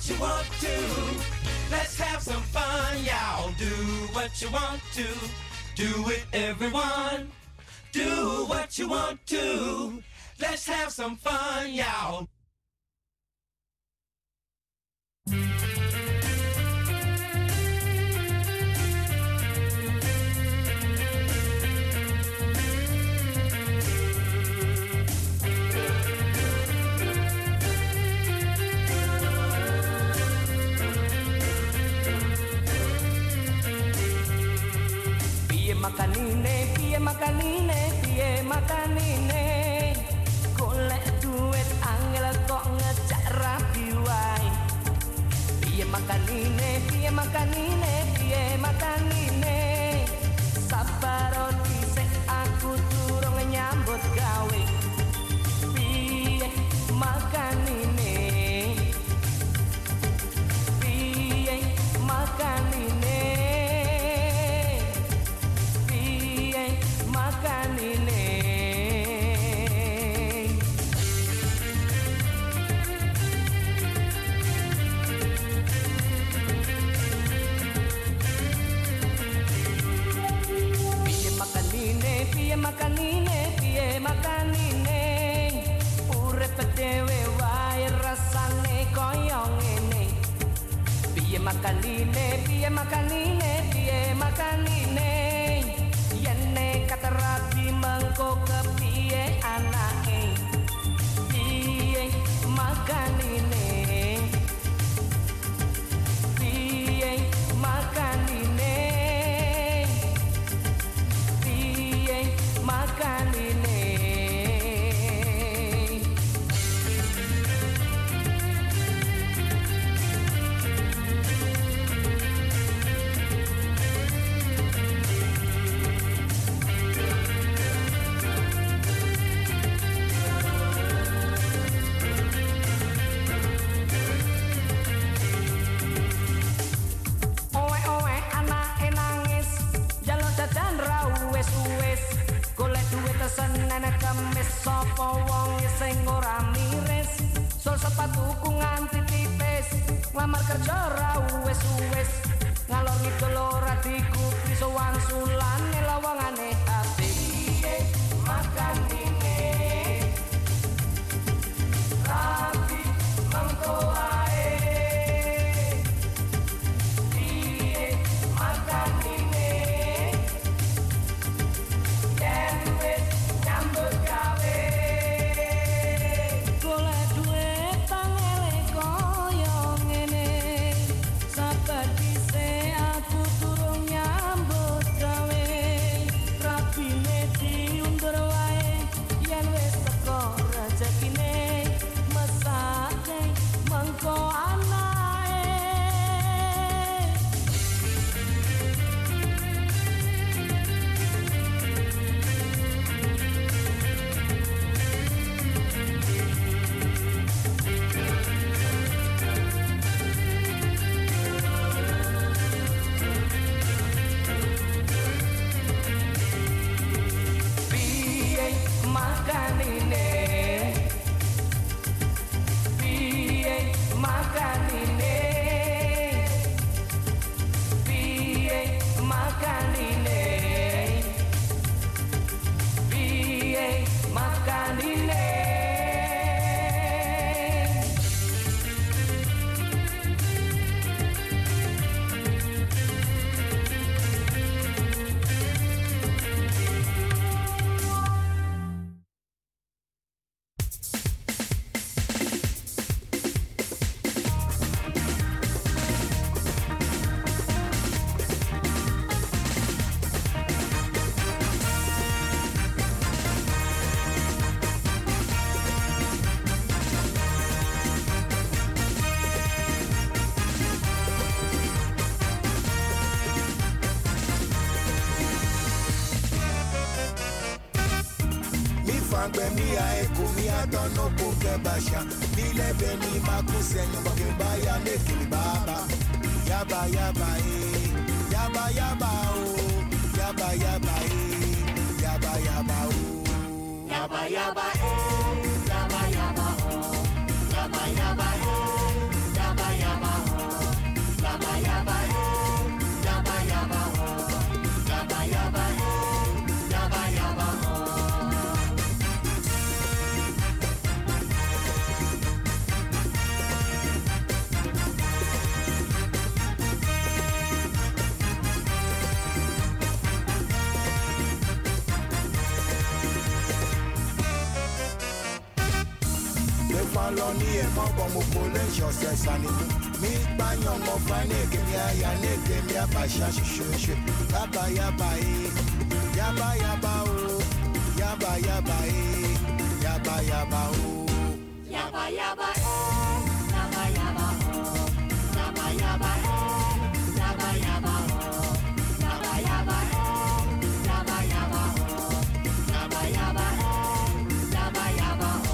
what you want to. Let's have some fun, y'all. Do what you want to. Do it, everyone. Do what you want to. Let's have some fun, y'all. Piye makanine golek duit angel kok ngejak rapi wae. Piye makanine sabar dhisik aku durung nyambut gawe. Piye makanine piye makanine urip dhewe wae rasane koyo ngene. Piye makanine yen nekat rabi mengko kepiye anake. Piye makanine senene kemis sapa wong sing ora miris. Sol sepatuku nganti tipis, nglamar kerja ra wis-wis. Ngalor ngidul ora dikupi sowan sulane lowongane ati. Piye makanine rapi mangko ae. Piye makanine Yaba yaba faloni e mo bomo pole jose sani. Mi banyo mo fane ke mi ya ne ke mi abasha shushu. Yaba yaba e. Yaba yaba o. Yaba yaba e. Yaba yaba o. Yaba yaba o. Yaba yaba o. Yaba yaba o. Yaba yaba o. Yaba yaba o. Yaba yaba o. Yaba yaba o. Yaba yaba o.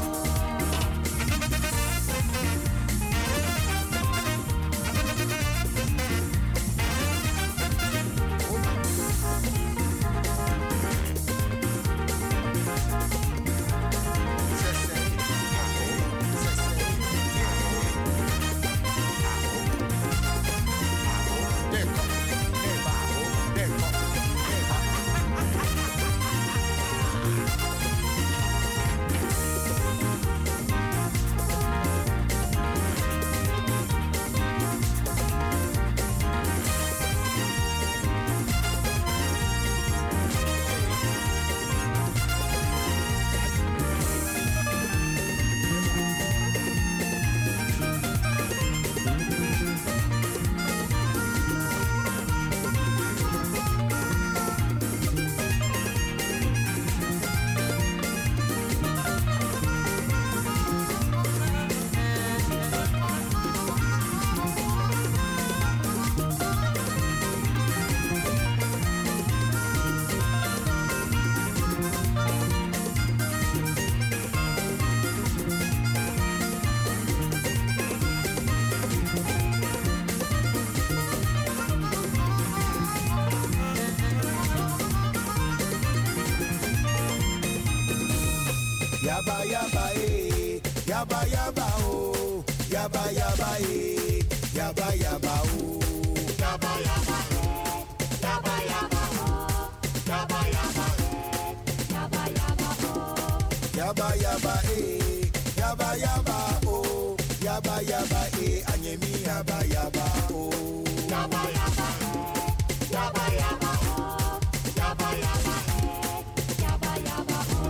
Yaba yaba e, yaba yaba o, yaba yaba e, yaba yaba o, Yaba yaba o. Yaba yaba o. Yaba yaba o. Yaba yaba o. yaba yaba e, yaba yaba o, yaba yaba e, anyemi yaba yaba o. Yaba yaba o. Yaba yaba o. Yaba yaba o. Yaba yaba o.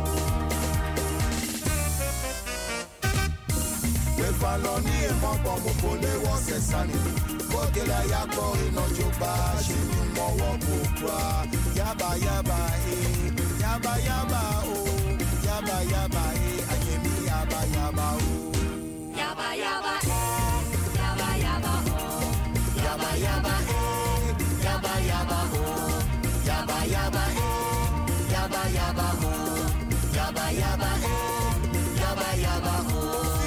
We faloni e mo bomo pole wo se sani. Kogela yako ino juba shinu mo wo bukwa. Yaba yaba e, yaba yaba o, yaba yaba e, anyemi yaba yaba o. Yaba yaba o. Yaba yaba o. Yaba yaba e, yaba yaba o, yaba yaba e, yaba yaba o, yaba yaba e, yaba yaba o.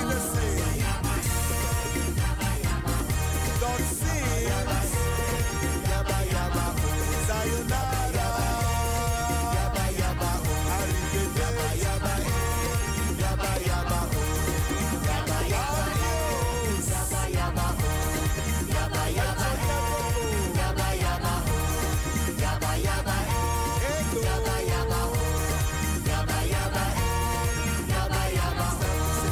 Don't see, yaba yaba o, sayonara, yaba yaba o, yaba yaba e, yaba yaba o, yaba yaba e, yaba yaba o, yaba yaba e, yaba yaba o, yaba yaba e, yaba yaba o, yaba yaba e, yaba yaba o.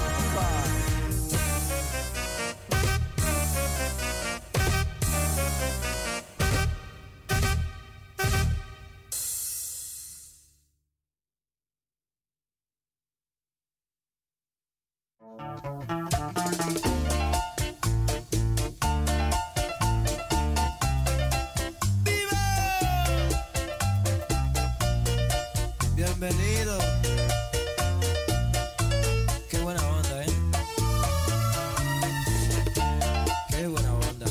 Bienvenido. Qué buena onda, ¿eh? Qué buena onda.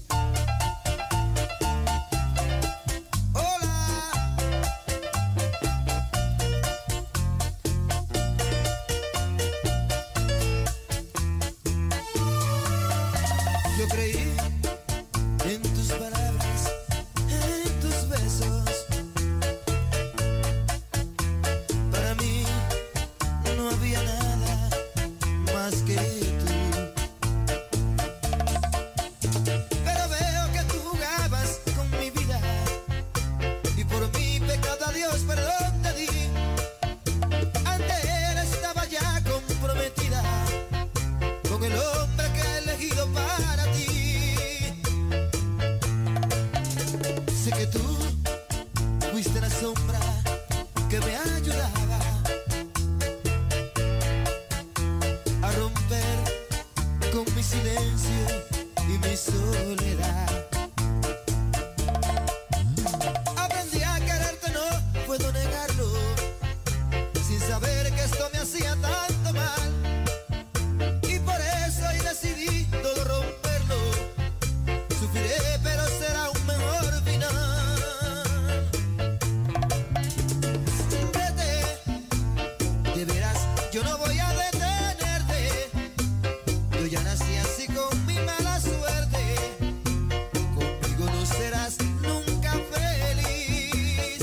Hola. Yo creí en tus palabras, en tus besos. Para mí no había nada más que tú. Pero veo que tú jugabas con mi vida y por mi pecado a Dios perdón te di. Ante él estaba ya comprometida con el hombre que he elegido para ti. Sé que tú fuiste la sombra que me ayudaba a romper con mi silencio y mi soledad. Aprendí a quererte, no puedo negarlo, sin saber que esto me hacía tanto mal. Y por eso hoy decidí todo romperlo. Sufriré, pero será un mejor final. Vete, de veras, yo no voy a detenerte. Yo ya nací así con mi mala suerte. Conmigo no serás nunca feliz.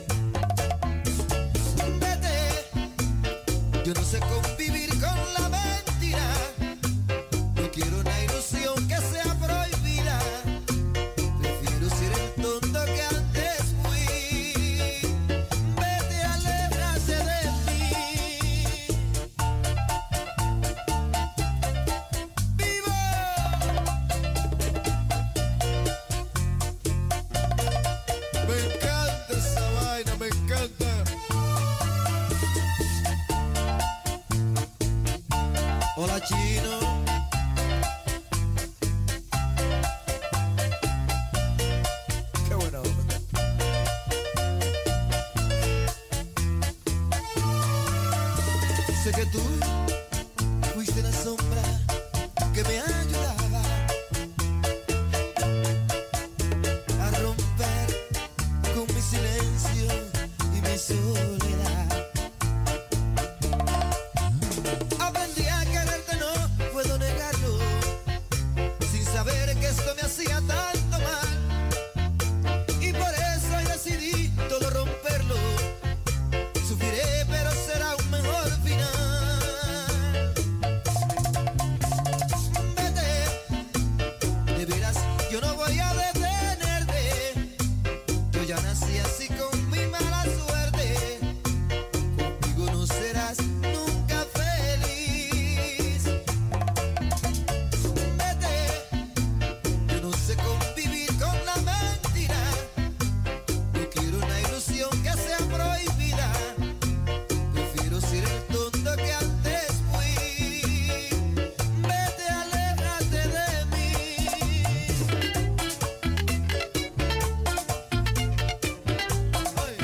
Vete, yo no sé convivir con la mentira. No quiero una ilusión que sea prohibida. Prefiero ser el tonto que antes fui. Vete, aléjate de mí. ¡Vivo! Me encanta esa vaina, me encanta. Hola, chino. Qué buena onda. Sé que tú fuiste la sombra que me ayudaba a romper con mi silencio y mi soledad. Aprendí a quererte, no puedo negarlo, sin saber que esto me hacía tanto mal. Y por eso hoy decidí todo romperlo. Sufriré, pero será un mejor final. Vete, de veras, yo no voy a detenerte. Yo ya nací así con mi mala suerte. Conmigo no serás nunca feliz. Vete, yo no sé convivir con la mentira. No quiero una ilusión que sea prohibida. Prefiero ser el tonto que antes fui. Vete, aléjate de mí. Ay.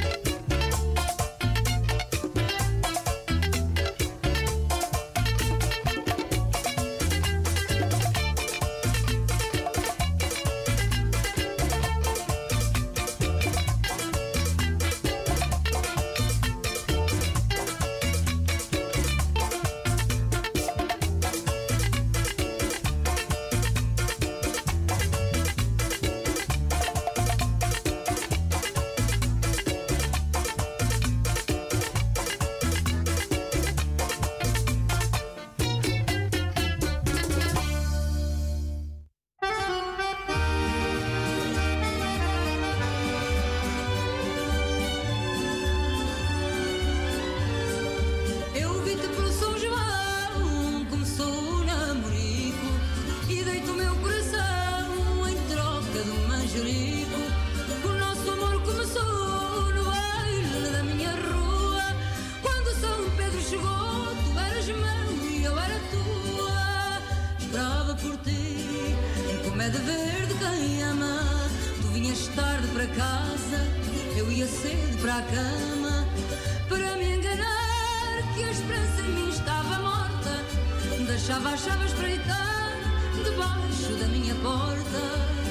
Eu vi-te pelo São João, começou o namorico, e dei-te o meu coração em troca de um manjerico. O nosso amor começou no baile da minha rua. Quando São Pedro chegou, tu eras meu e eu era tua. Esperava por ti, como é de ver de quem ama. Tu vinhas tarde para casa, eu ia cedo para a cama, para me enganar que a esperança em mim estava morta. Deixava a chave espreitar debaixo da minha porta.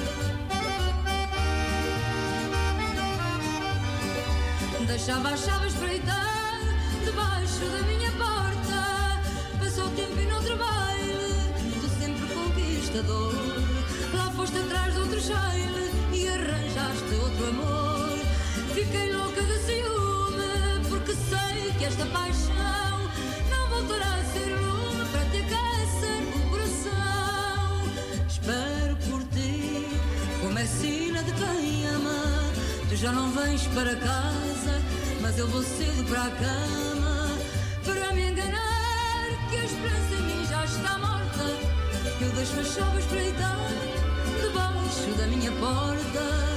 Deixava a chave espreitar debaixo da minha porta. Passou o tempo e noutro baile, tu sempre conquistador. Lá foste atrás de outro jaile e arranjaste outro amor. Fiquei louca de ciúme, porque sei que esta paixão não voltará a ser lume para te aquecer o coração. Espero por ti, como é sina de quem ama. Tu já não vens para casa, mas eu vou cedo para a cama, para me enganar que a esperança em mim já está morta. Eu deixo a chave espreitar debaixo da minha porta.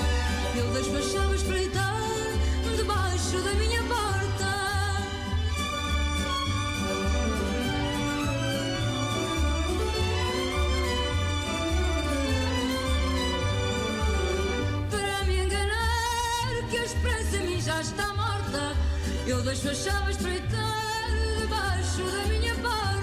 Eu deixo a chave espreitar debaixo da minha porta. deixo a chave espreitar debaixo da minha porta.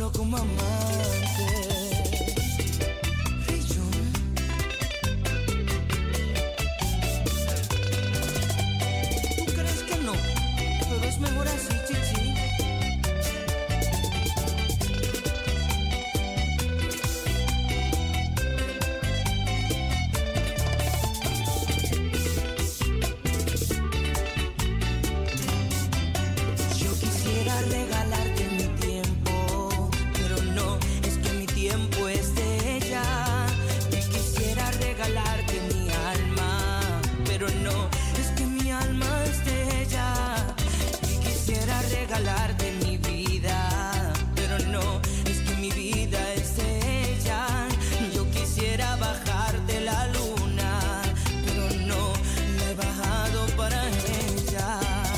solo como amante. ¿Tú crees que no? Pero es mejor así, chichi. Regalarte mi tiempo, pero no, es que mi tiempo es de ella. Y quisiera regalarte mi alma, pero no, es que mi alma es de ella. Y quisiera regalarte mi vida, pero no, es que mi vida es de ella. Yo quisiera bajarte la luna, pero no, la he bajado para ella.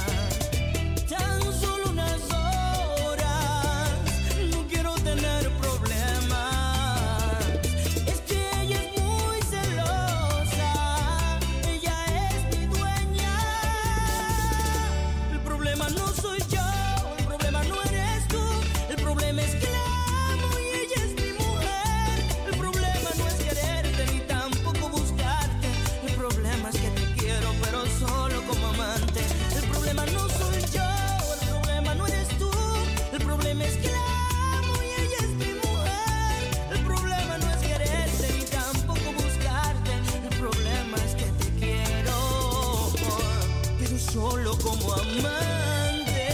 Solo como amante.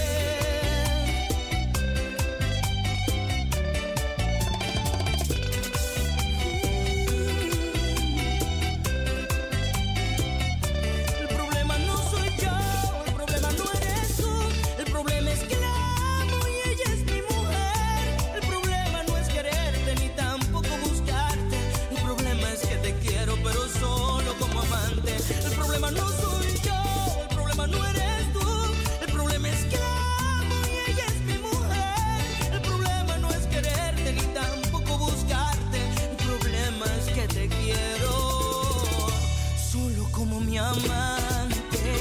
El problema no soy yo, el problema no eres tú. El problema es que la amo y ella es mi mujer. El problema no es quererte ni tampoco buscarte. El problema es que te quiero pero solo como amante. El problema no soy yo, no eres tú, el problema es que la amo y ella es mi mujer. El problema no es quererte ni tampoco buscarte. El problema es que te quiero solo como mi amante.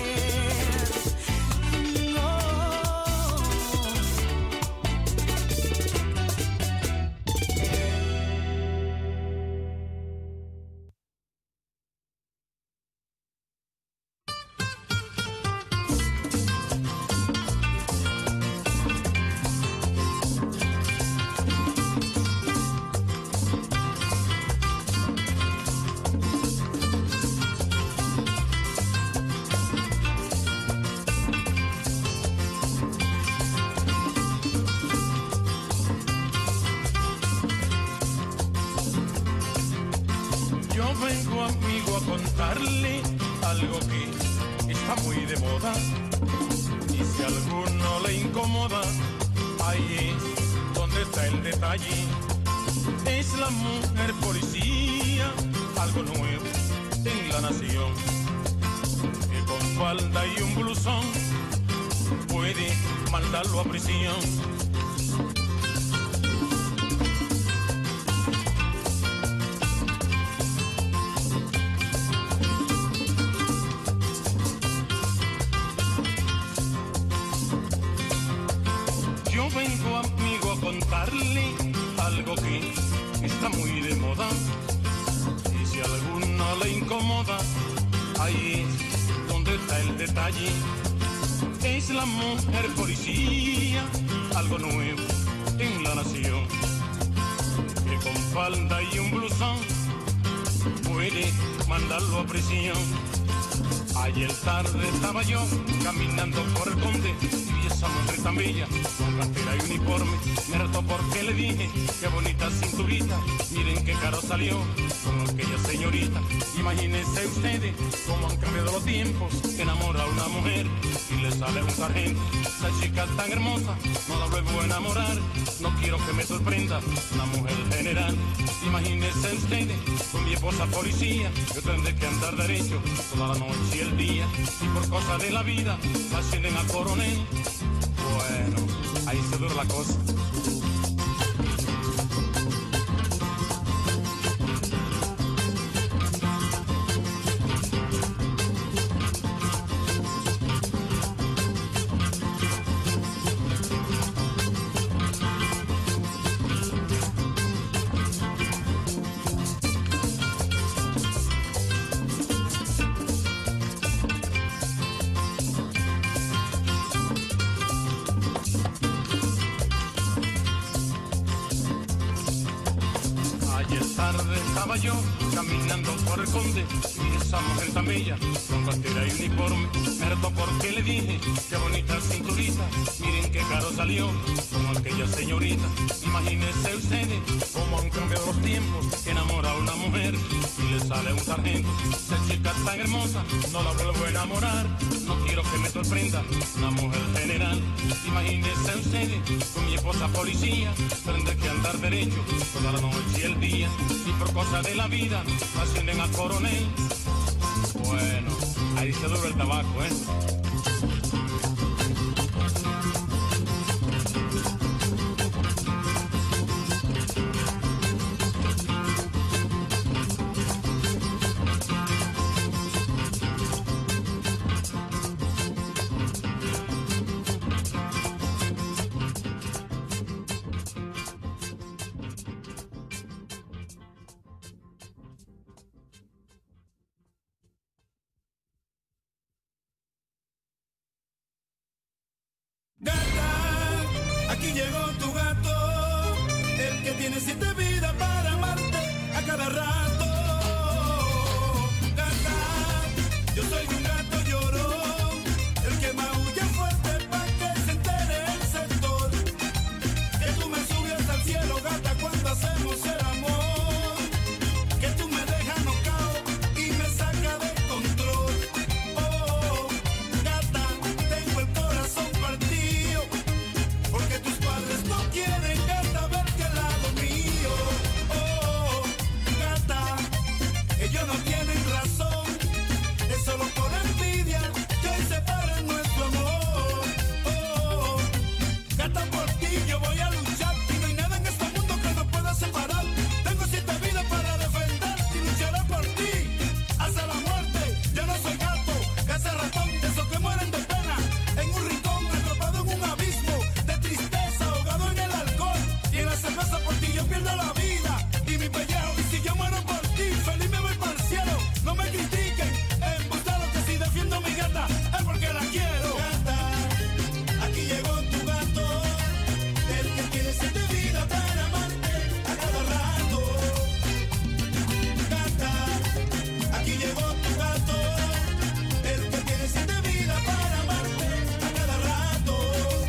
Vengo, amigo, a contarle algo que está muy de moda. Y si a alguno le incomoda, ahí es donde está el detalle. Es la mujer policía, algo nuevo en la nación, que con falda y un blusón puede mandarlo a prisión. Yo vengo, amigo, a contarle algo que está muy de moda. Y si a alguno le incomoda, ahí es donde está el detalle. Es la mujer policía, algo nuevo en la nación, que con falda y un blusón puede mandarlo a prisión. Ayer tarde estaba yo caminando por el Conde y esa mujer tan bella, con cartera y uniforme, me retó porque le dije, qué bonita cinturita, miren qué caro salió con aquella señorita. Imagínense ustedes cómo han cambiado los tiempos, que enamora a una mujer y le sale un sargento. Esa chica tan hermosa, no la vuelvo a enamorar, no quiero que me sorprenda una mujer general. Imagínense ustedes con mi esposa policía, yo tendré que andar derecho toda la noche y el día, y por cosas de la vida la ascienden a coronel. Bueno, ahí se dura la cosa. estaba yo caminando por el conde y esa mujer tan bella, con cartera y uniforme, me retó porque le dije, qué bonita cinturita, miren qué caro salió, como aquella señorita. Imagínense ustedes cómo han cambiado los tiempos, que enamora a una mujer y le sale un sargento. Esa chica tan hermosa, no la vuelvo a enamorar, no quiero que me sorprenda una mujer general. Imagínense ustedes con mi esposa policía, tendré que andar derecho toda la noche y el día, y por cosas de la vida ascienden a coronel. Bueno, ahí se dura el tabaco, ¿eh? Gata, aquí llegó tu gato, el que tiene 7 vidas para amarte a cada rato. Gata, yo soy un gato llorón, el que maulla fuerte pa' que se entere el sector. Que tú me subes al cielo, gata, cuando hacemos el amor. Que tú me dejas nocao y me saca de control. Oh, gata, tengo el corazón partido, porque tus padres no quieren, gata, verte al lado mío. Oh, gata, ellos no tienen razón, es solo por envidia que hoy separan nuestro amor. Oh, gata, por ti yo voy a luchar y no hay nada en este mundo que nos pueda separar. Tengo 7 vidas para defender y lucharé por ti hasta la muerte. Yo no soy gato, ese ratón de esos que mueren de pena en un rincón, atrapado en un abismo de tristeza, ahogado en el alcohol y en la cerveza. Por ti yo pierdo la vida y mi pellejo, y si yo muero por ti, feliz me voy para el cielo. No me critiquen, embustero, que si defiendo a mi gata es porque la quiero. Gata, aquí llegó tu gato, el que tiene 7 vidas para amarte a cada rato. Gata, aquí llegó tu gato, el que tiene 7 vidas para amarte a cada rato.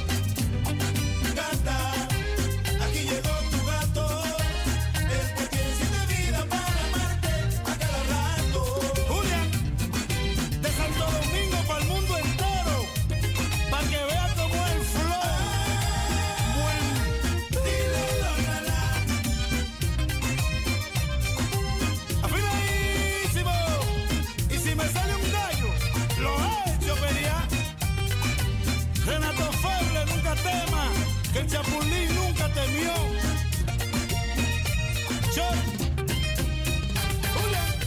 Gata, aquí llegó tu gato, el que tiene 7 vidas para amarte a cada rato. Julián, de Santo Domingo para el mundo entero, para que vea cómo es el flow. Buen dile la la. Afinadísimo. Y si me sale un gallo, lo he hecho pelear. Renato Feble nunca tema, que el Chapulín nunca temió. Shot. Julián.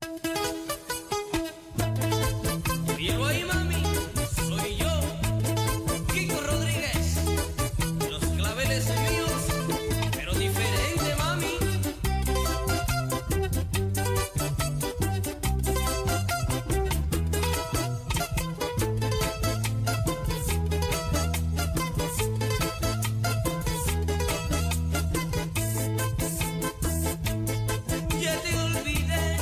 Oíelo ahí, mami, soy yo, Kiko Rodríguez. Los claveles míos, pero diferente, mami. Ya te olvidé,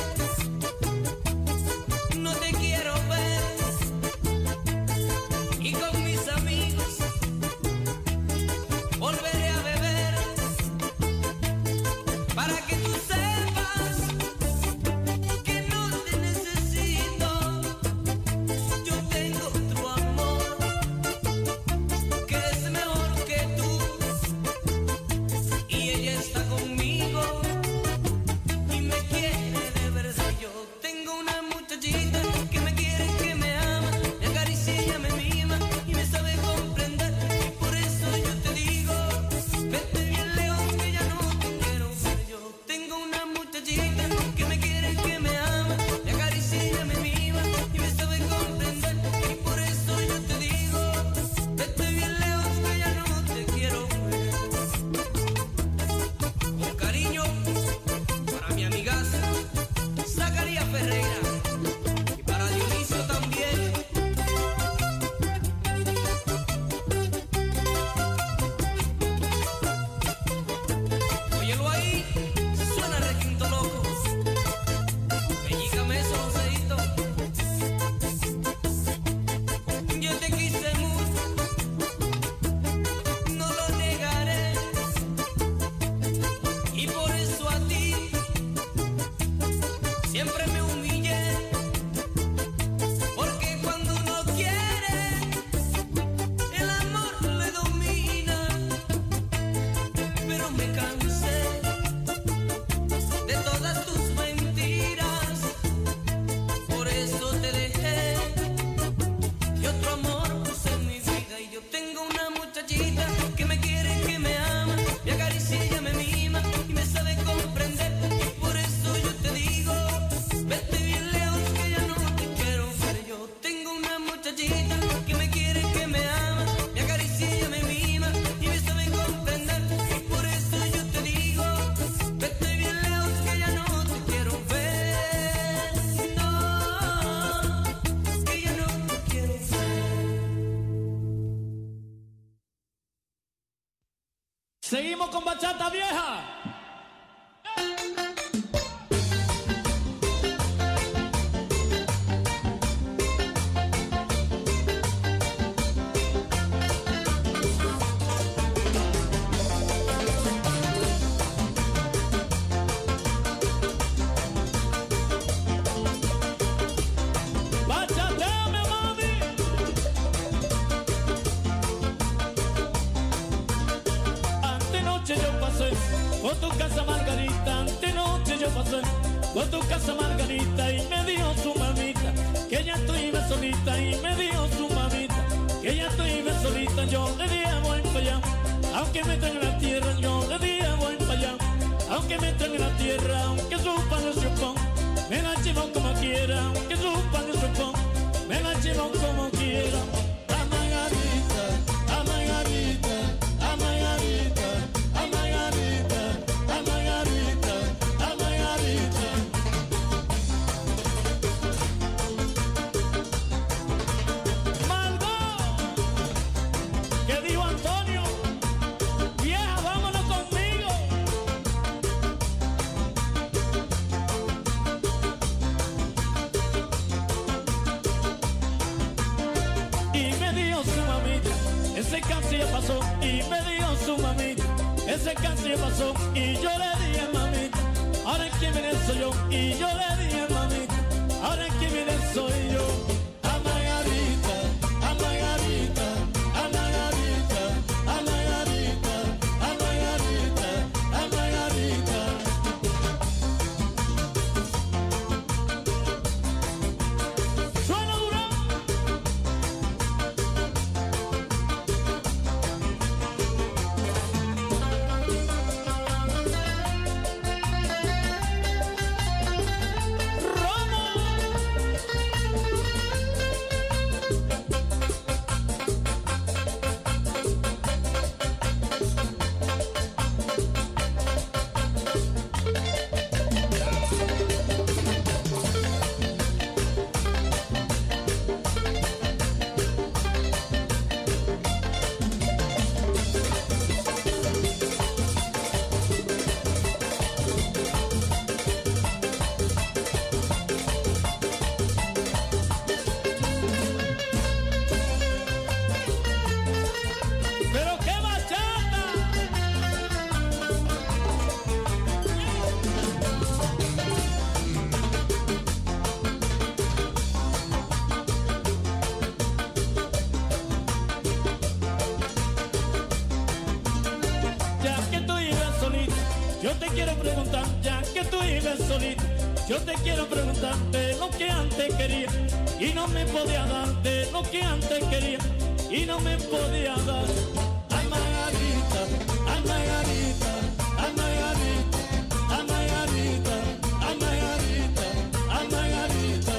no te quiero ver. Y con mis amigos volveré a beber. Para que tú sepas que no te necesito. Yo tengo otro amor que es mejor que tú. Y ella está conmigo y me quiere de verdad. Yo tengo una muchachita que me quiere, que me ama, me acaricia, ella me mima y me sabe comprender. Y por eso yo te digo, vete bien lejos que ya no te quiero ver. Yo tengo una muchachita que me quiere, que me ama, me acaricia, ella me mima y me sabe comprender. Y por eso yo te digo, vete bien lejos que ya no te quiero ver. Con cariño para mi amigaza Zacarías Ferreira y para Dionisio también. Óyelo ahí, suena requinto loco. Pellícame eso, Joseito. Yo te quise mucho, no lo negaré. Y por eso a ti siempre me humillé. Porque cuando uno quiere, el amor le domina. Pero me cansé de todas tus mentiras. Por eso te dejé y otro amor puse en mi vida. Y yo tengo una muchachita que me quiere, que me ama, me acaricia, ella me mima y me sabe comprender. Y por eso yo te digo, vete bien lejos que ya no te quiero ver. Yo tengo una muchachita que me quiere, que me ama, me acaricia, ella me mima y me sabe comprender. Y por eso yo te digo, vete bien lejos que ya no te quiero ver. No, que ya no te quiero ver. Seguimos con bachata vieja. Bachateame, mami. Antenoche yo pasé por tu casa Margarita, antenoche yo pasé por tu casa Margarita y me dijo su mamita que ya estoy solita y me dijo su mamita que ya estoy solita. Yo le dije voy para allá, aunque me tenga en la tierra. Yo le dije voy para allá, aunque me tenga en la tierra. Aunque su padre se opone, me la llevo como quiera. Aunque su padre se opone, me la llevo como quiera. A Margarita, a Margarita, a Margarita, a Margarita, a Margarita, a Margarita. Malvo, ¿qué dijo Antonio? Vieja, vámonos conmigo. Y me dijo su mamita, ese casi ya pasó. Y me dijo su mamita, ese casi ya pasó. Y yo le dije mamita, ahora es que viene soy yo. Y yo le dije mamita, ahora es que viene soy yo. A Margarita, a Margarita, a Margarita, a Margarita, a Margarita, a Margarita. Suena duro. te quiero preguntar, ya que tú vives solita, yo te quiero preguntar de lo que antes quería y no me podía dar, de lo que antes quería y no me podía dar. Ay, Margarita, ay, Margarita, ay, Margarita, ay, Margarita, ay, Margarita, ay, Margarita.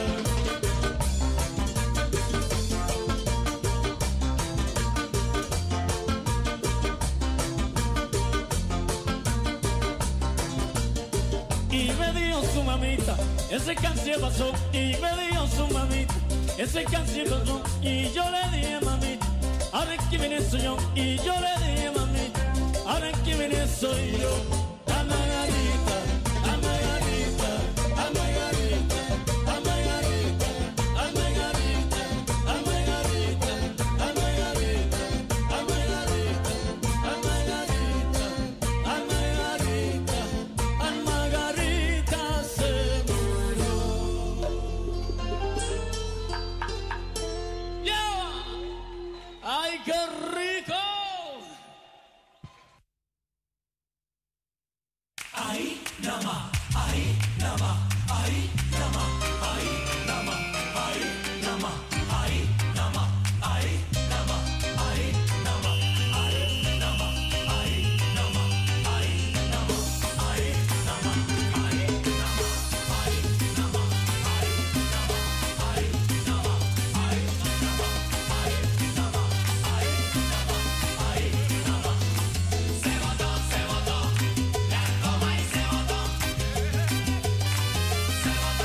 Y me dio su mamita, ese canción pasó. Y me dio su mamita, ese canción pasó. Y yo le dije, mamita, ahora que viene soy yo. Y yo le dije, mamita, ahora que viene soy yo. A Margarita, a Margarita, a Margarita, a Margarita, a Margarita, a Margarita, a Margarita, a Margarita, a Margarita, a Margarita, a Margarita se murió. ¡Ya! ¡Ay, qué rico! Ahí nada más, ahí nada más, ahí nada más, ahí nada más, ahí nada más, ahí nada más, ahí nada más, ahí nada más, ahí nada más, ahí nada más, ahí nada más, ahí nada más, ahí nada más, ahí nada más, ahí nada más, ahí nada más, ahí nada más, ahí nada más, ahí nada más, ahí nada más. Se votó, la coma y se votó. Se votó.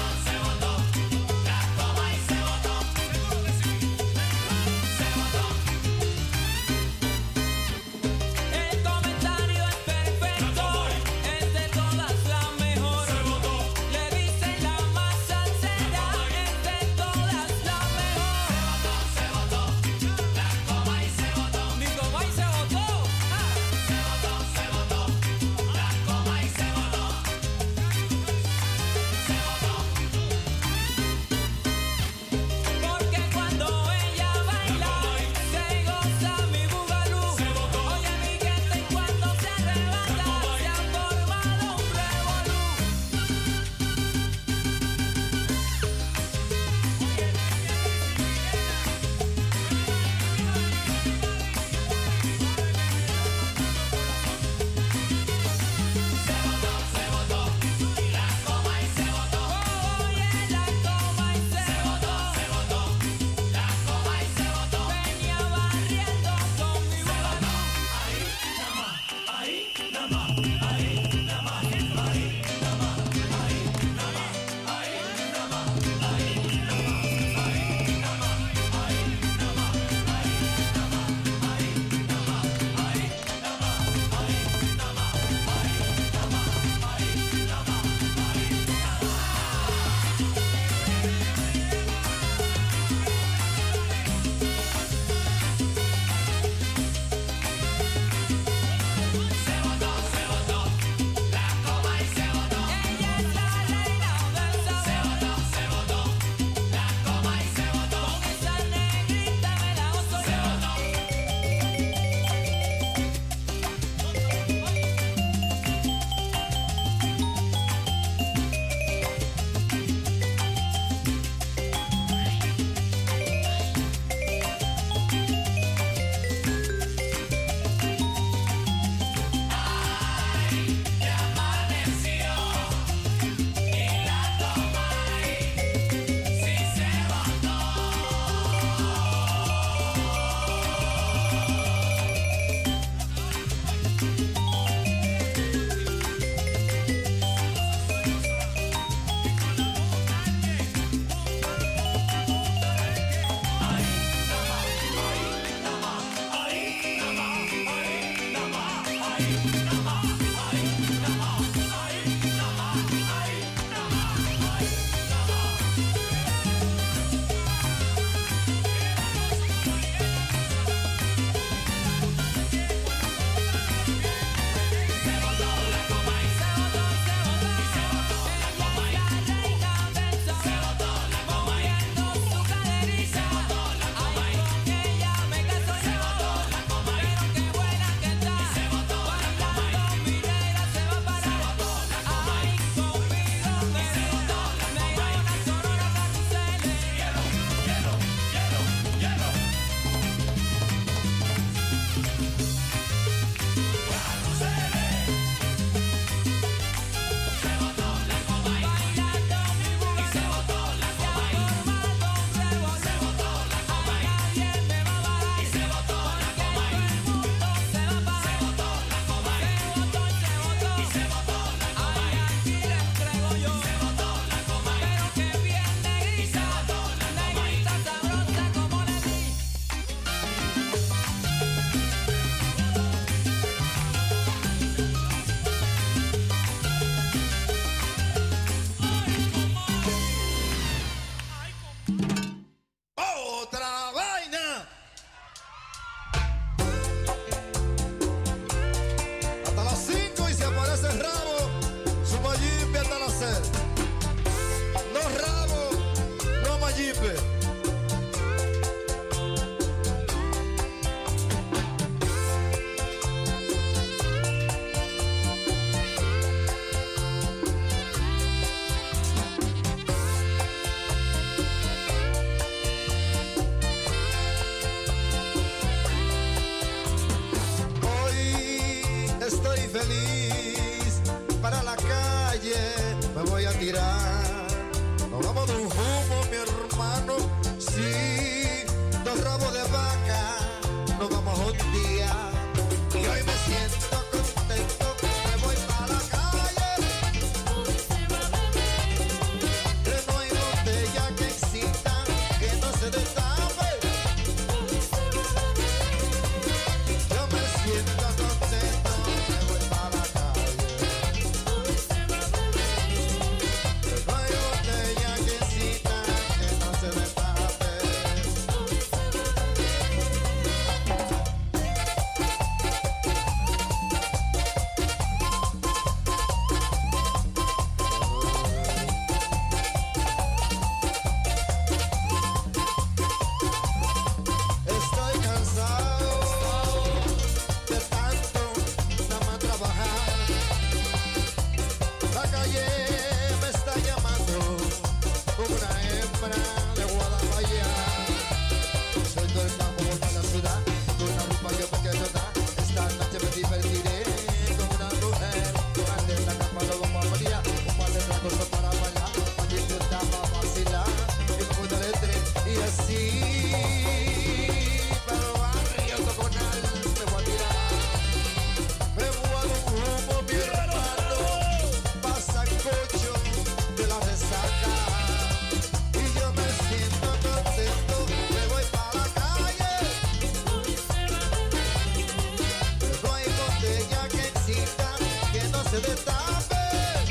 se destape.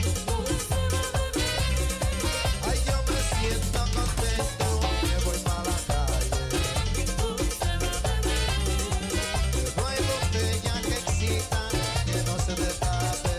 Ay, yo me siento contento, me voy para la calle. No hay botella que excita, que no se destape.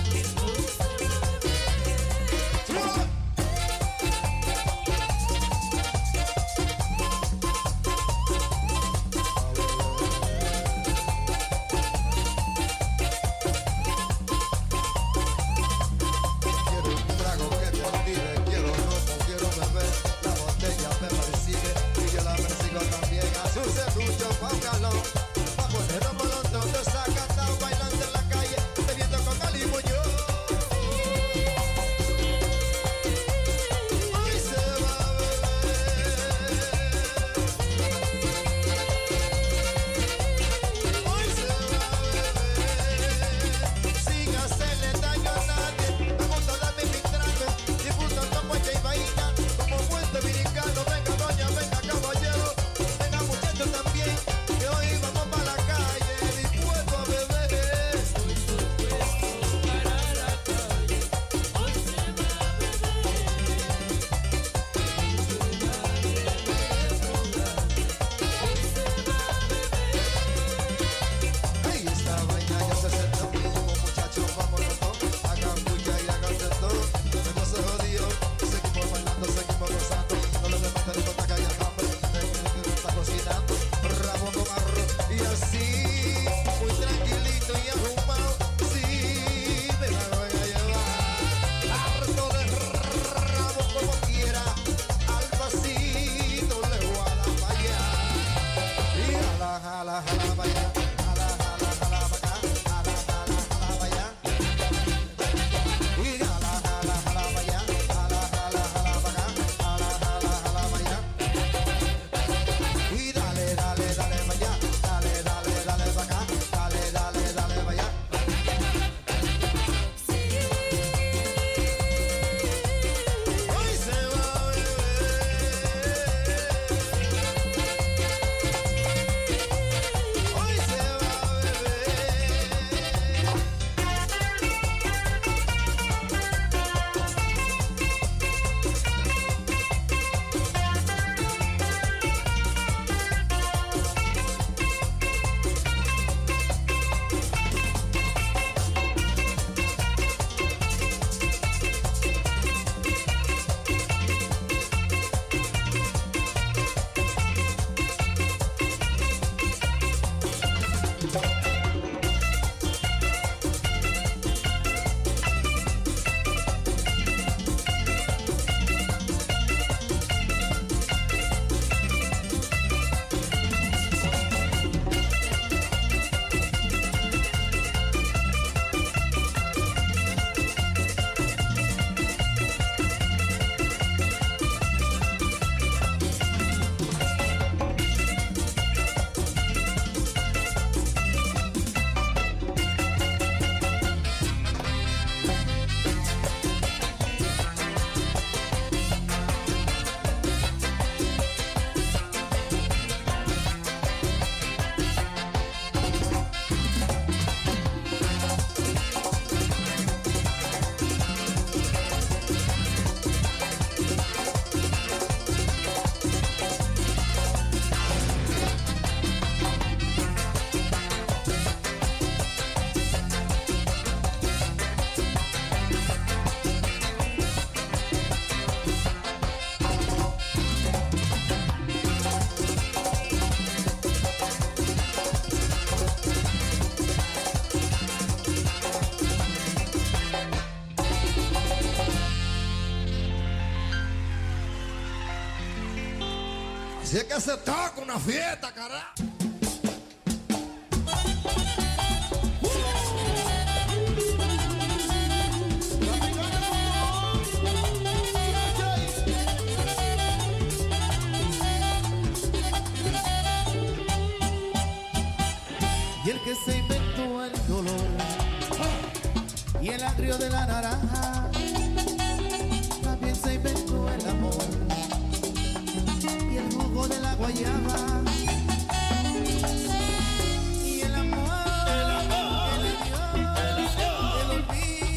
Si es que se toca una fiesta, carajo. Y el que se inventó el dolor y el agrio de la naranja, también se inventó el amor y el jugo de la guayaba. Y el amor, el olvido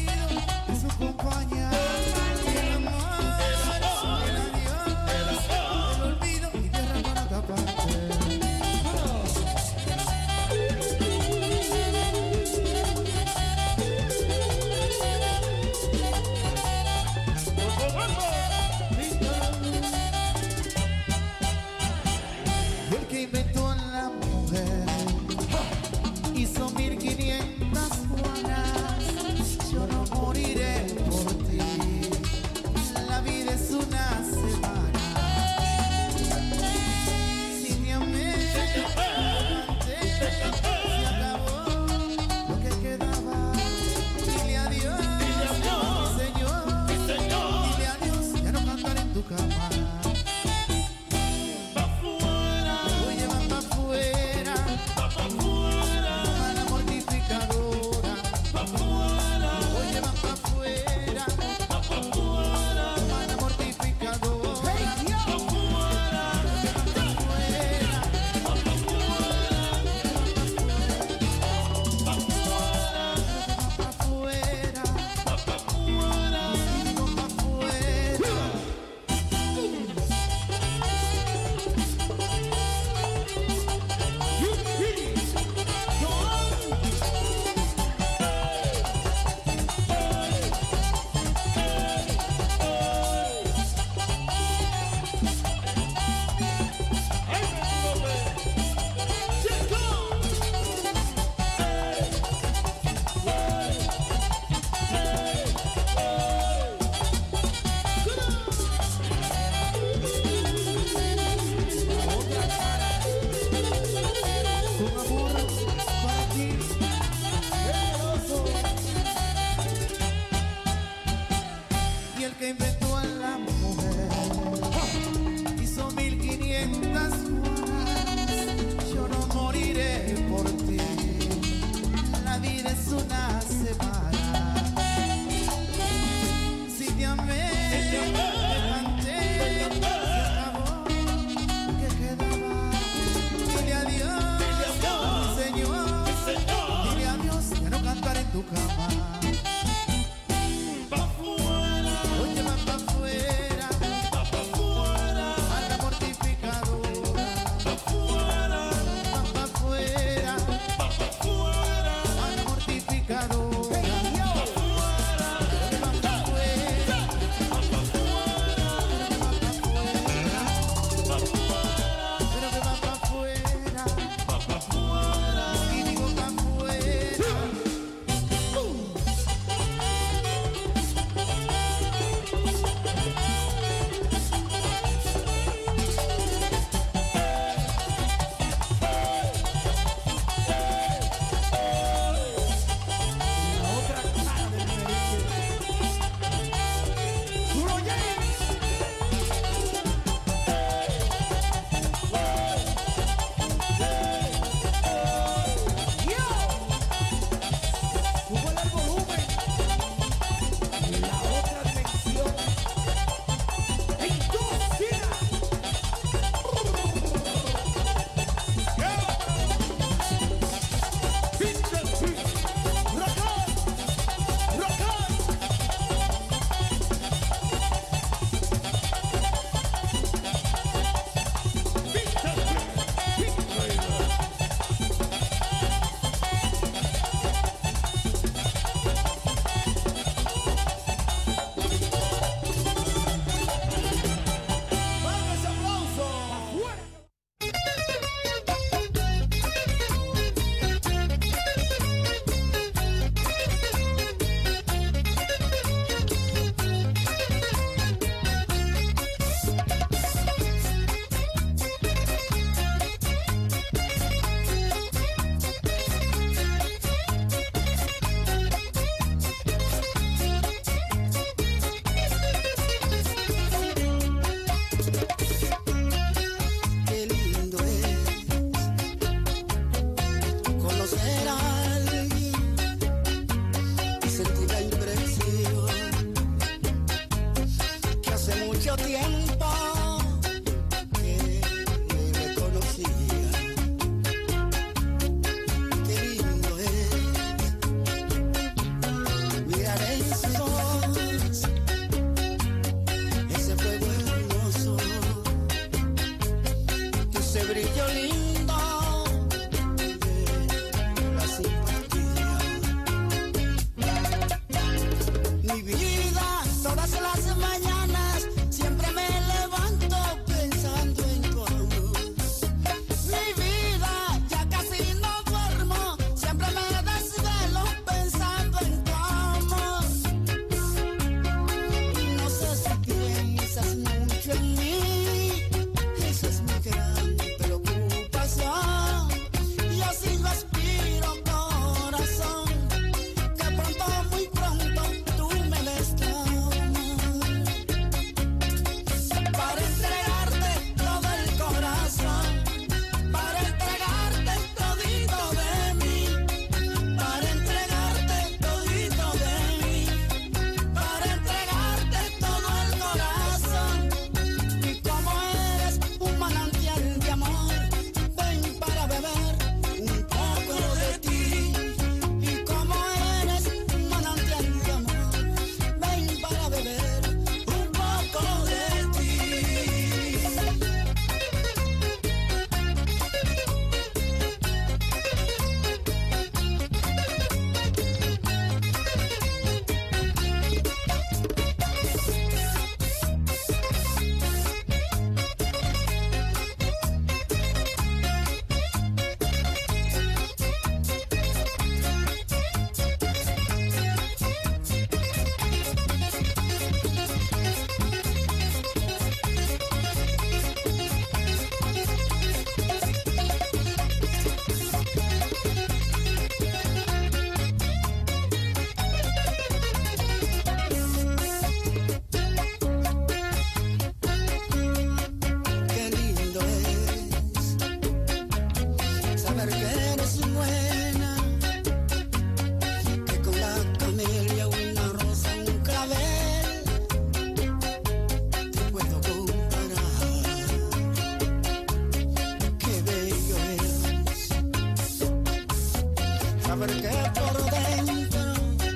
saber que por dentro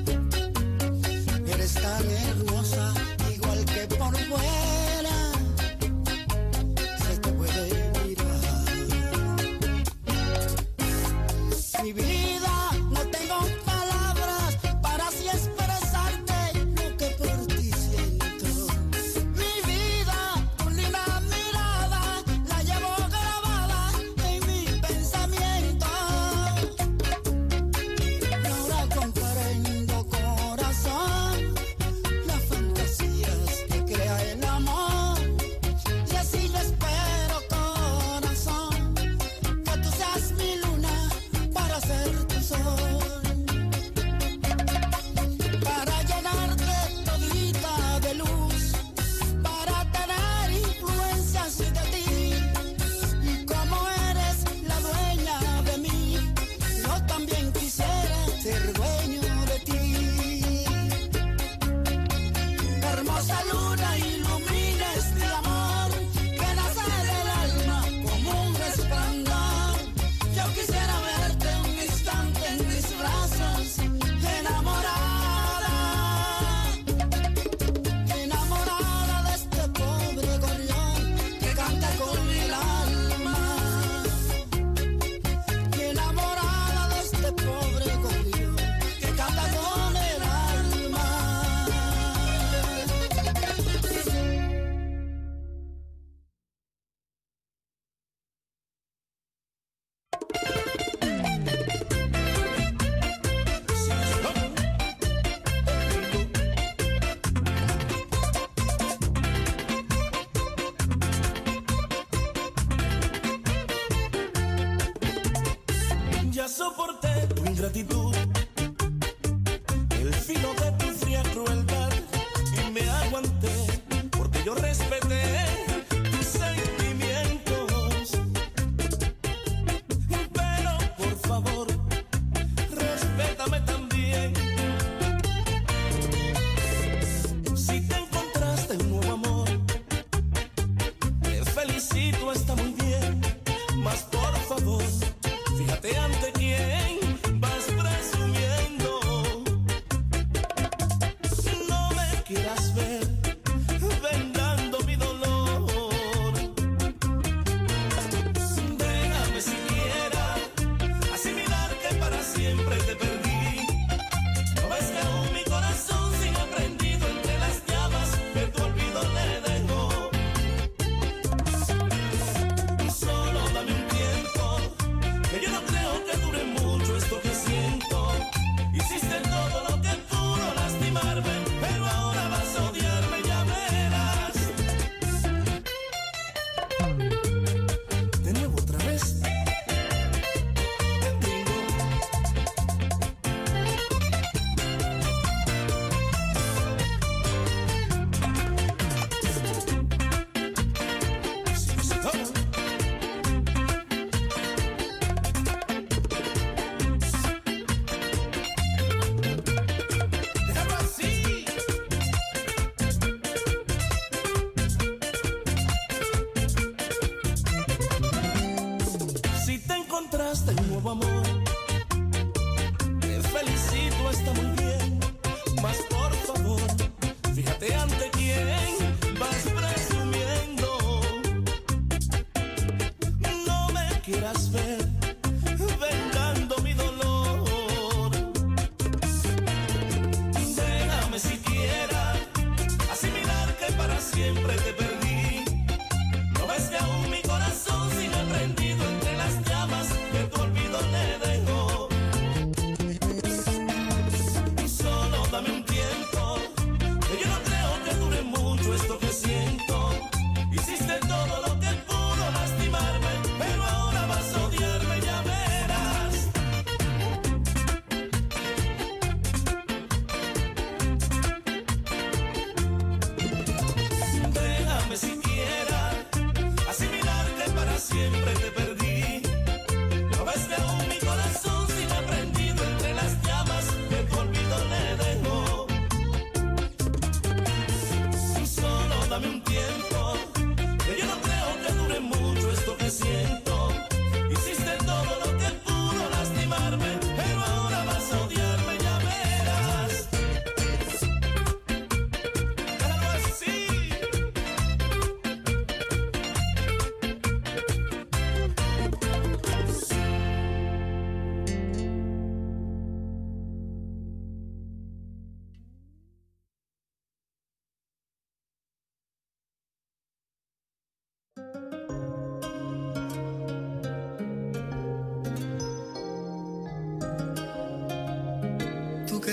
eres tan hermosa, igual que por fuera se te puede mirar. Mi vida, no tengo palabras para así expresarte lo que por ti siento. Mi vida, tu linda mirada la llevo grabada en mi pensamiento. Y ahora comprendo, corazón, las fantasías que crea el amor. Y así yo espero, corazón, que tú seas mi luna para ser tu sol, para llenarte todita de luz, para tener influencias de ti. Y como eres la dueña de mí, yo también quisiera ser dueño de ti. Hermosa luna, ilumina este amor que nace del alma como un resplandor. Yo quisiera verte un instante en mis brazos, enamorada, enamorada de este pobre gorrión que canta con el alma, enamorada de este pobre gorrión que canta con el alma. Ya soporté tu ingratitud, el filo de tu fría crueldad, y me aguanté porque yo respeté tus sentimientos. Pero por favor, respétame también. Si te encontraste un nuevo amor, te felicito, está muy bien, mas por favor, fíjate ante quién vas presumiendo.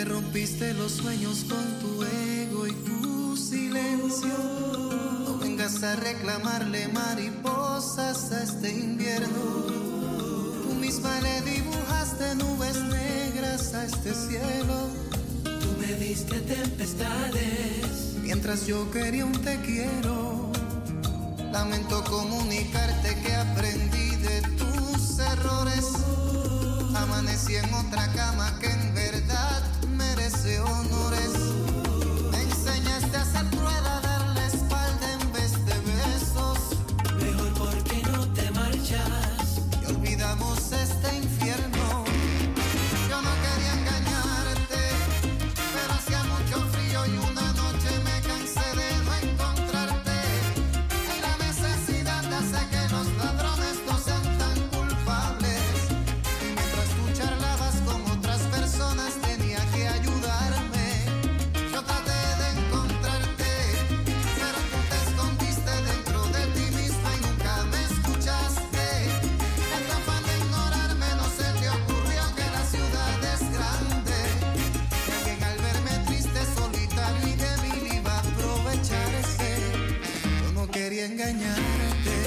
rompiste los sueños con tu ego y tu silencio. No vengas a reclamarle mariposas a este invierno. Tú misma le dibujaste nubes negras a este cielo. Tú me diste tempestades mientras yo quería un te quiero. Lamento comunicarte que aprendí de tus errores. Amanecí en otra cama que en verdad merece honores. Me enseñaste a hacer prueba, darle espalda en vez de besos. Mejor porque no te marchas y olvidamos este infierno. Yo no quería engañarte, pero hacía mucho frío y una noche me cansé de no encontrarte. Y la necesidad hace que los ladrones no sean tan culpables. Y mientras tú charlabas con otras personas tenía que ayudarme. Yo traté de encontrarte, pero tú te escondiste dentro de ti misma y nunca me escuchaste. En tu afán de ignorarme no se te ocurrió que la ciudad es grande. Que al verme triste, solitario y débil iba a aprovecharse. Yo no quería engañarte,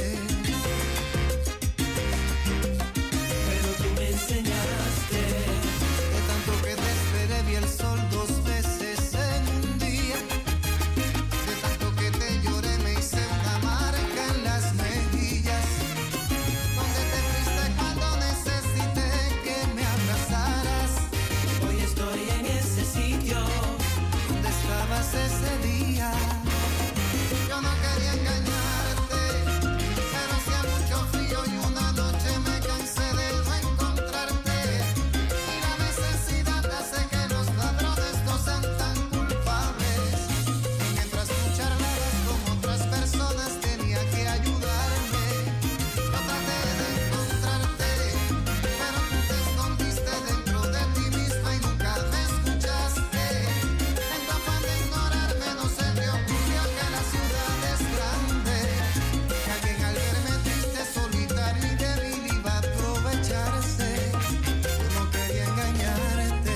pero tú me enseñaste. de tanto que te esperé vi el sol 2 veces en un día. De tanto que te lloré me hice una marca en las mejillas. Donde te fuiste cuando necesité que me abrazaras. Hoy estoy en ese sitio ¿Dónde estabas ese día? Yo no quería engañarte, pero hacía mucho frío y una noche me cansé de no encontrarte. Y la necesidad hace que los ladrones no sean tan culpables. Y mientras tú charlabas con otras personas tenía que ayudarme. Yo traté de encontrarte, pero tú te escondiste dentro de ti misma y nunca me escuchaste. En tu afán de ignorarme no se te ocurrió que la ciudad es grande. Que alguien al verme triste, solitario y débil iba a aprovecharse. Yo no quería engañarte,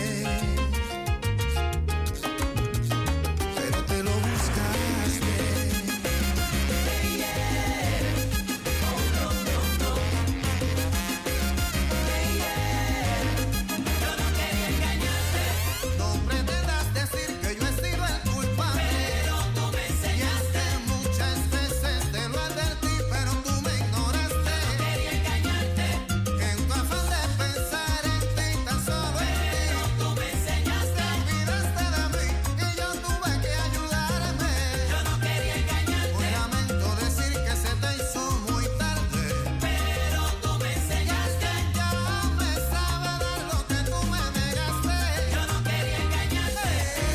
pero te lo buscaste. No pretendas decir que yo he sido el culpable, pero tú me enseñaste. muchas veces te lo advertí, pero tú me ignoraste. Quería engañarte, Que en tu afán de pensar en ti, tan solo en ti, pero tú me enseñaste. olvidaste de mí y yo tuve que ayudarme. Yo no quería engañarte, Hoy lamento decir que se te hizo muy tarde. pero tú me enseñaste. Ya me sabe dar lo que tú me negaste. Yo no quería engañarte.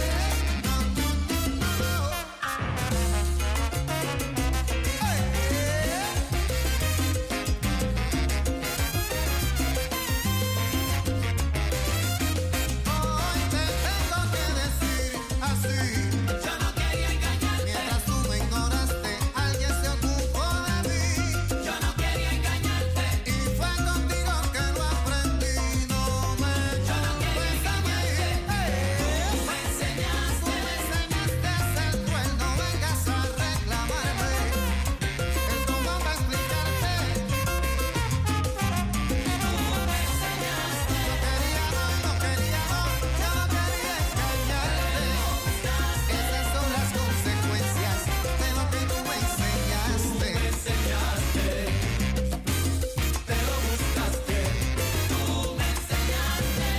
Hoy te tengo que decir así. Yo no quería engañarte, Mientras tú me ignoraste, alguien se ocupó de mí. yo no quería engañarte. Y fue contigo que lo aprendí. No me Yo no quería culpes a mí. Tú me enseñaste. Tú me enseñaste a ser cruel, no vengas a reclamarme. El cómo va a explicarte. Yo quería no, yo no quería engañarte. Esas son las consecuencias de lo que tú me enseñaste. Te lo buscaste, tú me enseñaste.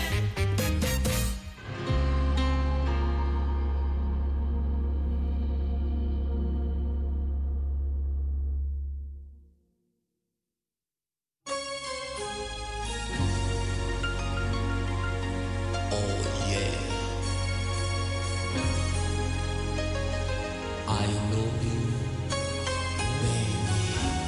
I know you, baby.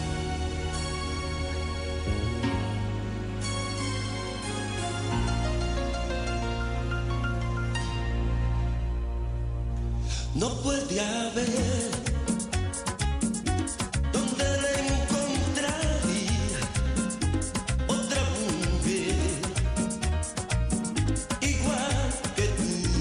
No puede haber donde la encontraría otra mujer igual que tú.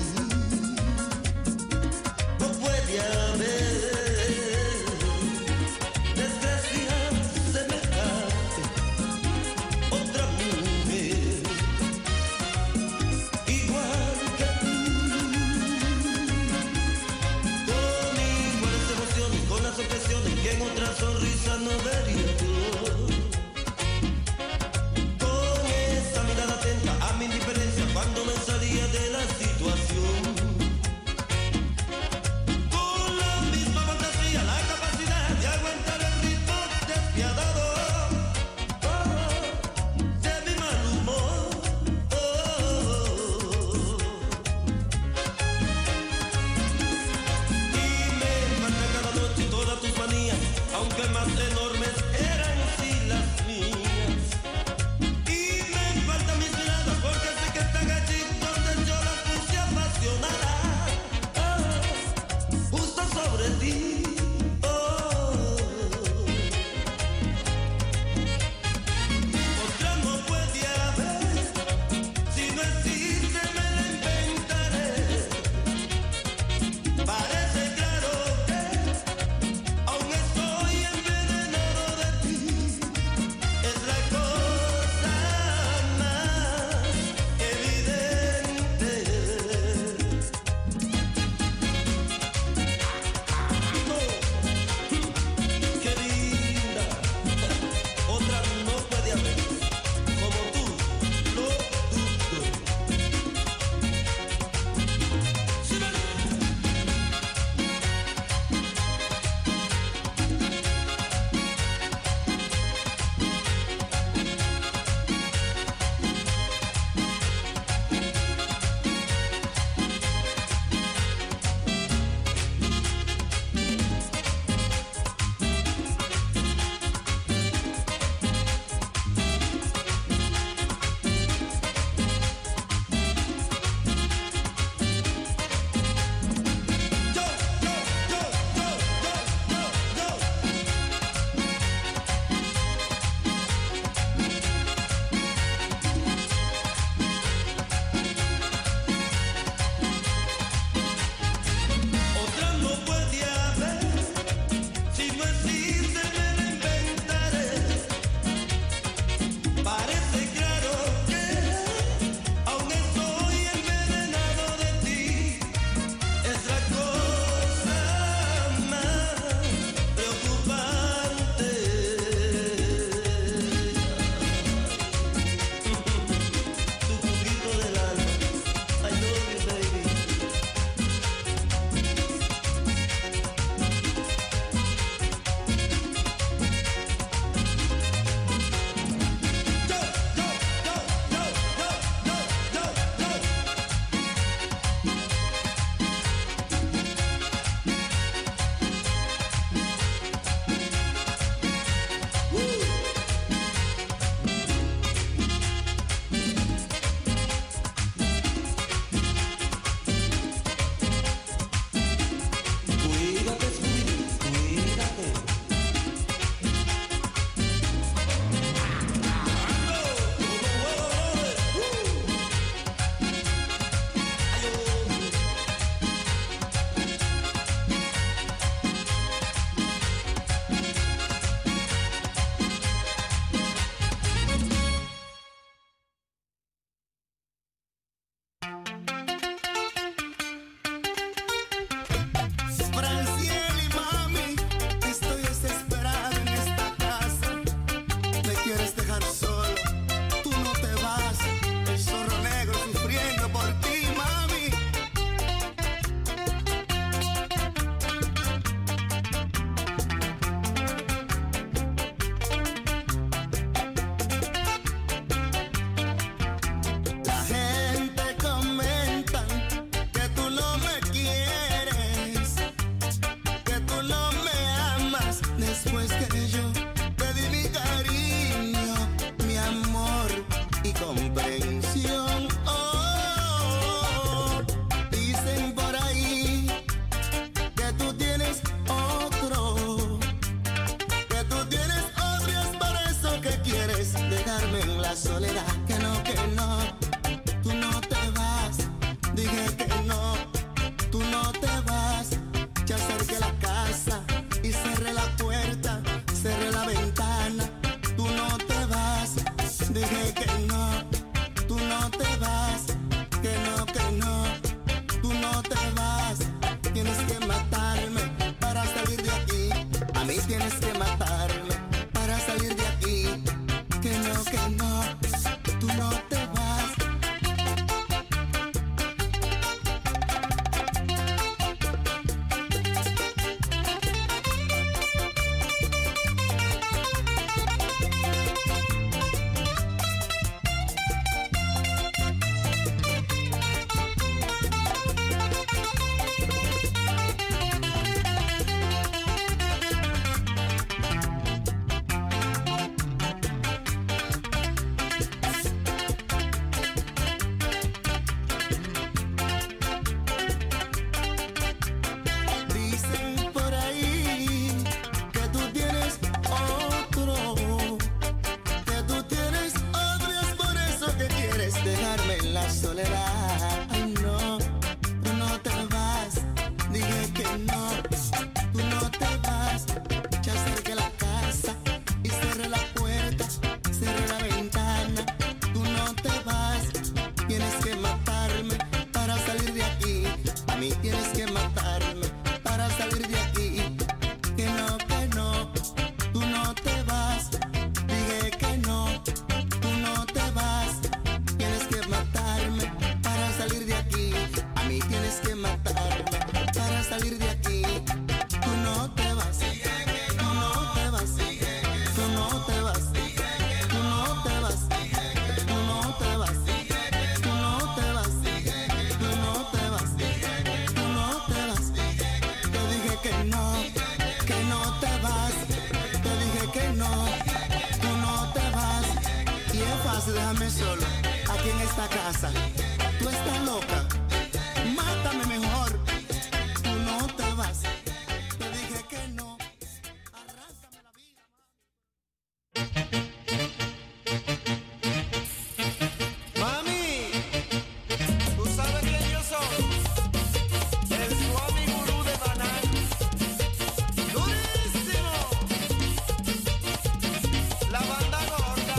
casa. Tú estás loca. Mátame mejor. Tú no te vas. Te dije que no. Arráncame la vida. Mami, ¿tú sabes quién yo soy? El Swami Gurú de Maná. ¡Durísimo! La banda gorda.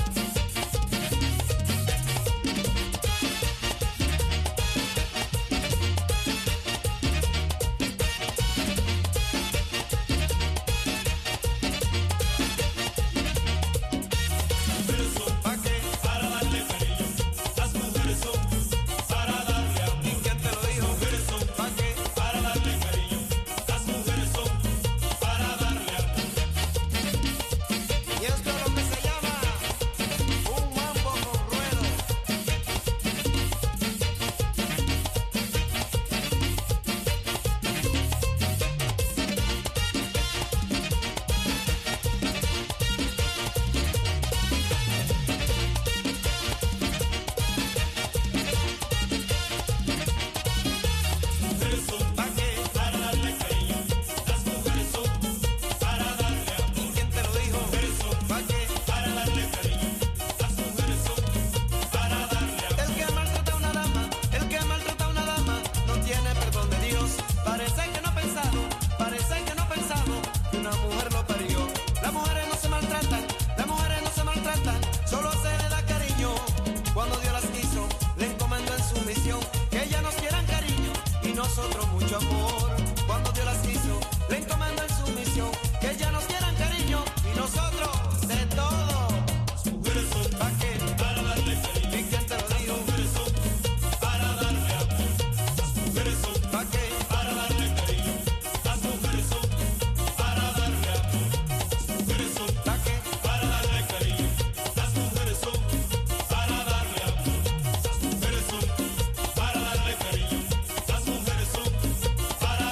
¿Pa' qué? Para darle cariño, las mujeres son para darle amor. ¿Y quién te lo dijo? Mujeres son ¿Pa' qué? para darle cariño, las mujeres son para darle amor. Y esto es lo que se llama un mambo con ruedo. Mujeres son ¿Pa' qué? para darle cariño, las mujeres son para darle amor. ¿Y quién te lo dijo? Mujeres son ¿Pa' qué? para darle cariño, las mujeres son para darle amor. El que maltrata a una dama, el que maltrata a una dama, no tiene perdón de Dios. Parece que no ha pensado que una mujer lo parió. Las mujeres no se maltratan, las mujeres no se maltratan, solo se le da cariño. Cuando Dios las hizo, le encomendó en su misión que ellas nos quieran cariño y nosotros mucho amor. Cuando Dios las hizo, le encomendó en su misión que ellas nos quieran cariño y nosotros de todo. Las mujeres son ¿Pa' qué? para darle cariño, ¿Y quién te lo dijo? las mujeres son para darle amor. Las mujeres son ¿Pa' qué? para darle cariño, las mujeres son para darle amor. Las mujeres son ¿Pa' qué? para darle cariño, las mujeres son para darle amor. Las mujeres son para darle cariño, las mujeres son para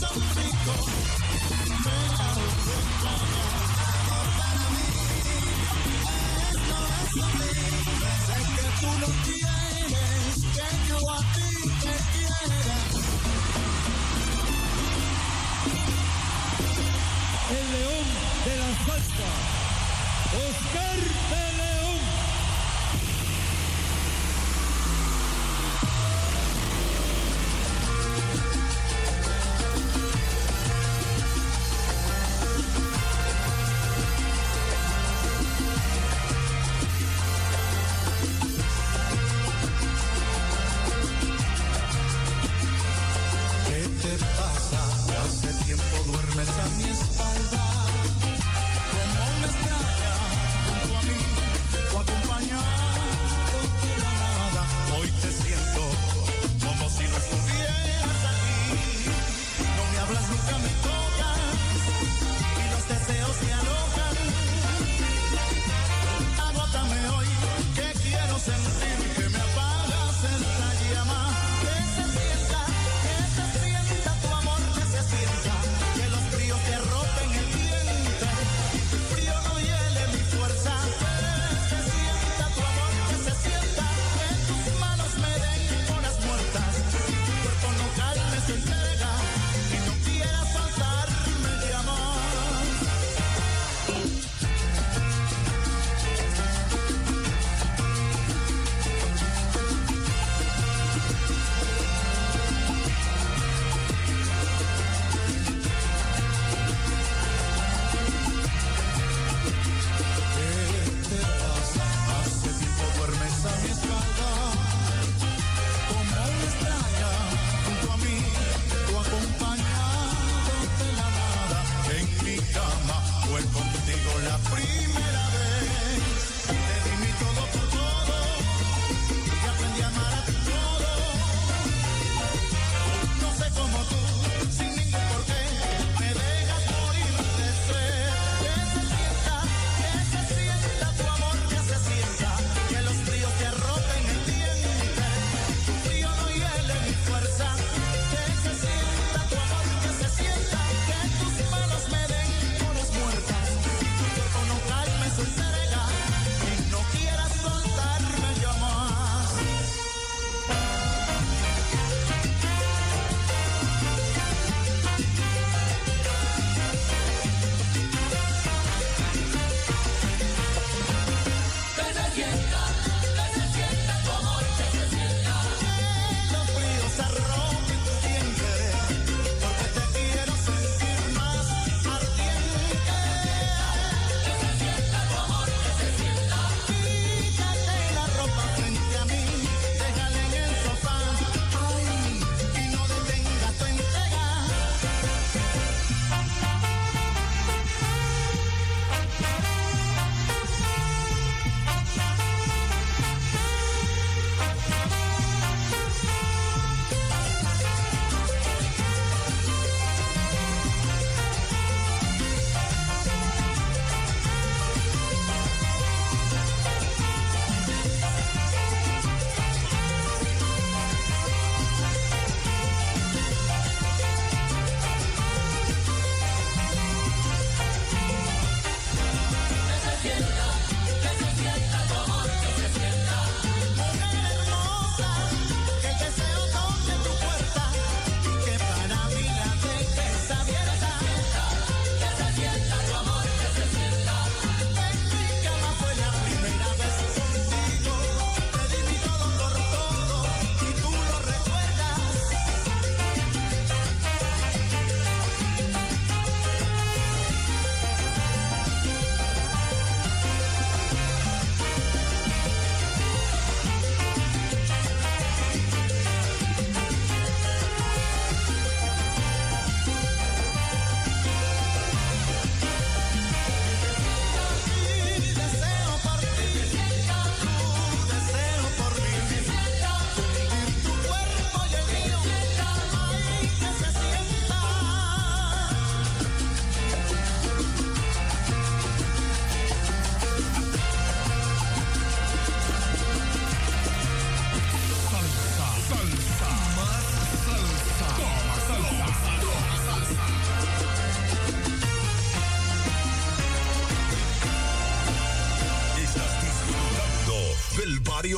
El león de la salsa, Oscar de León.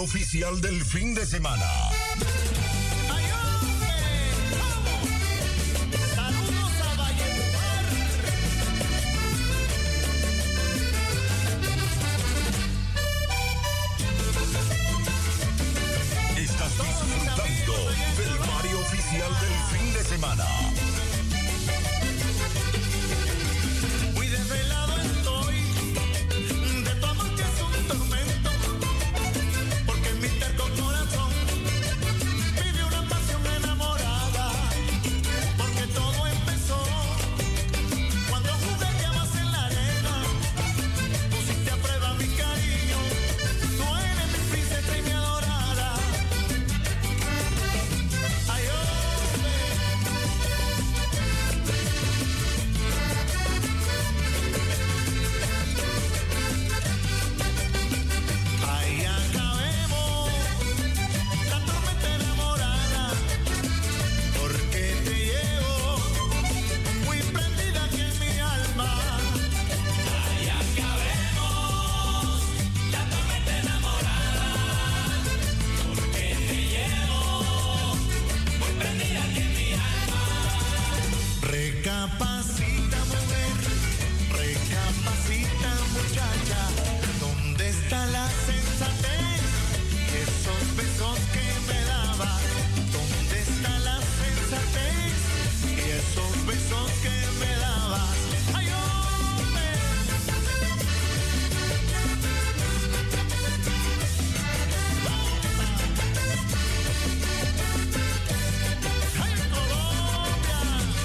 oficial del fin de semana. Estás disfrutando del Mario oficial del fin de semana. Muy desvelado estoy de tu amor que es un tormento, porque mi terco corazón vive una pasión enamorada, porque todo empezó cuando jugueteabas en la arena, pusiste a prueba mi cariño, tú eres mi princesa y mi adorada. Ay, ahí acabemos la tormenta enamorada, porque te llevo muy prendida aquí en mi alma. Ahí acabemos la tormenta enamorada, porque te llevo muy prendida aquí en mi alma. Recapacita, mujer, recapacita, muchacha, ¿dónde está la sensatez y esos besos que me dabas? ¿Dónde está la sensatez y esos besos que me dabas? ¡Ay, hombre! ¡Ay, Colombia!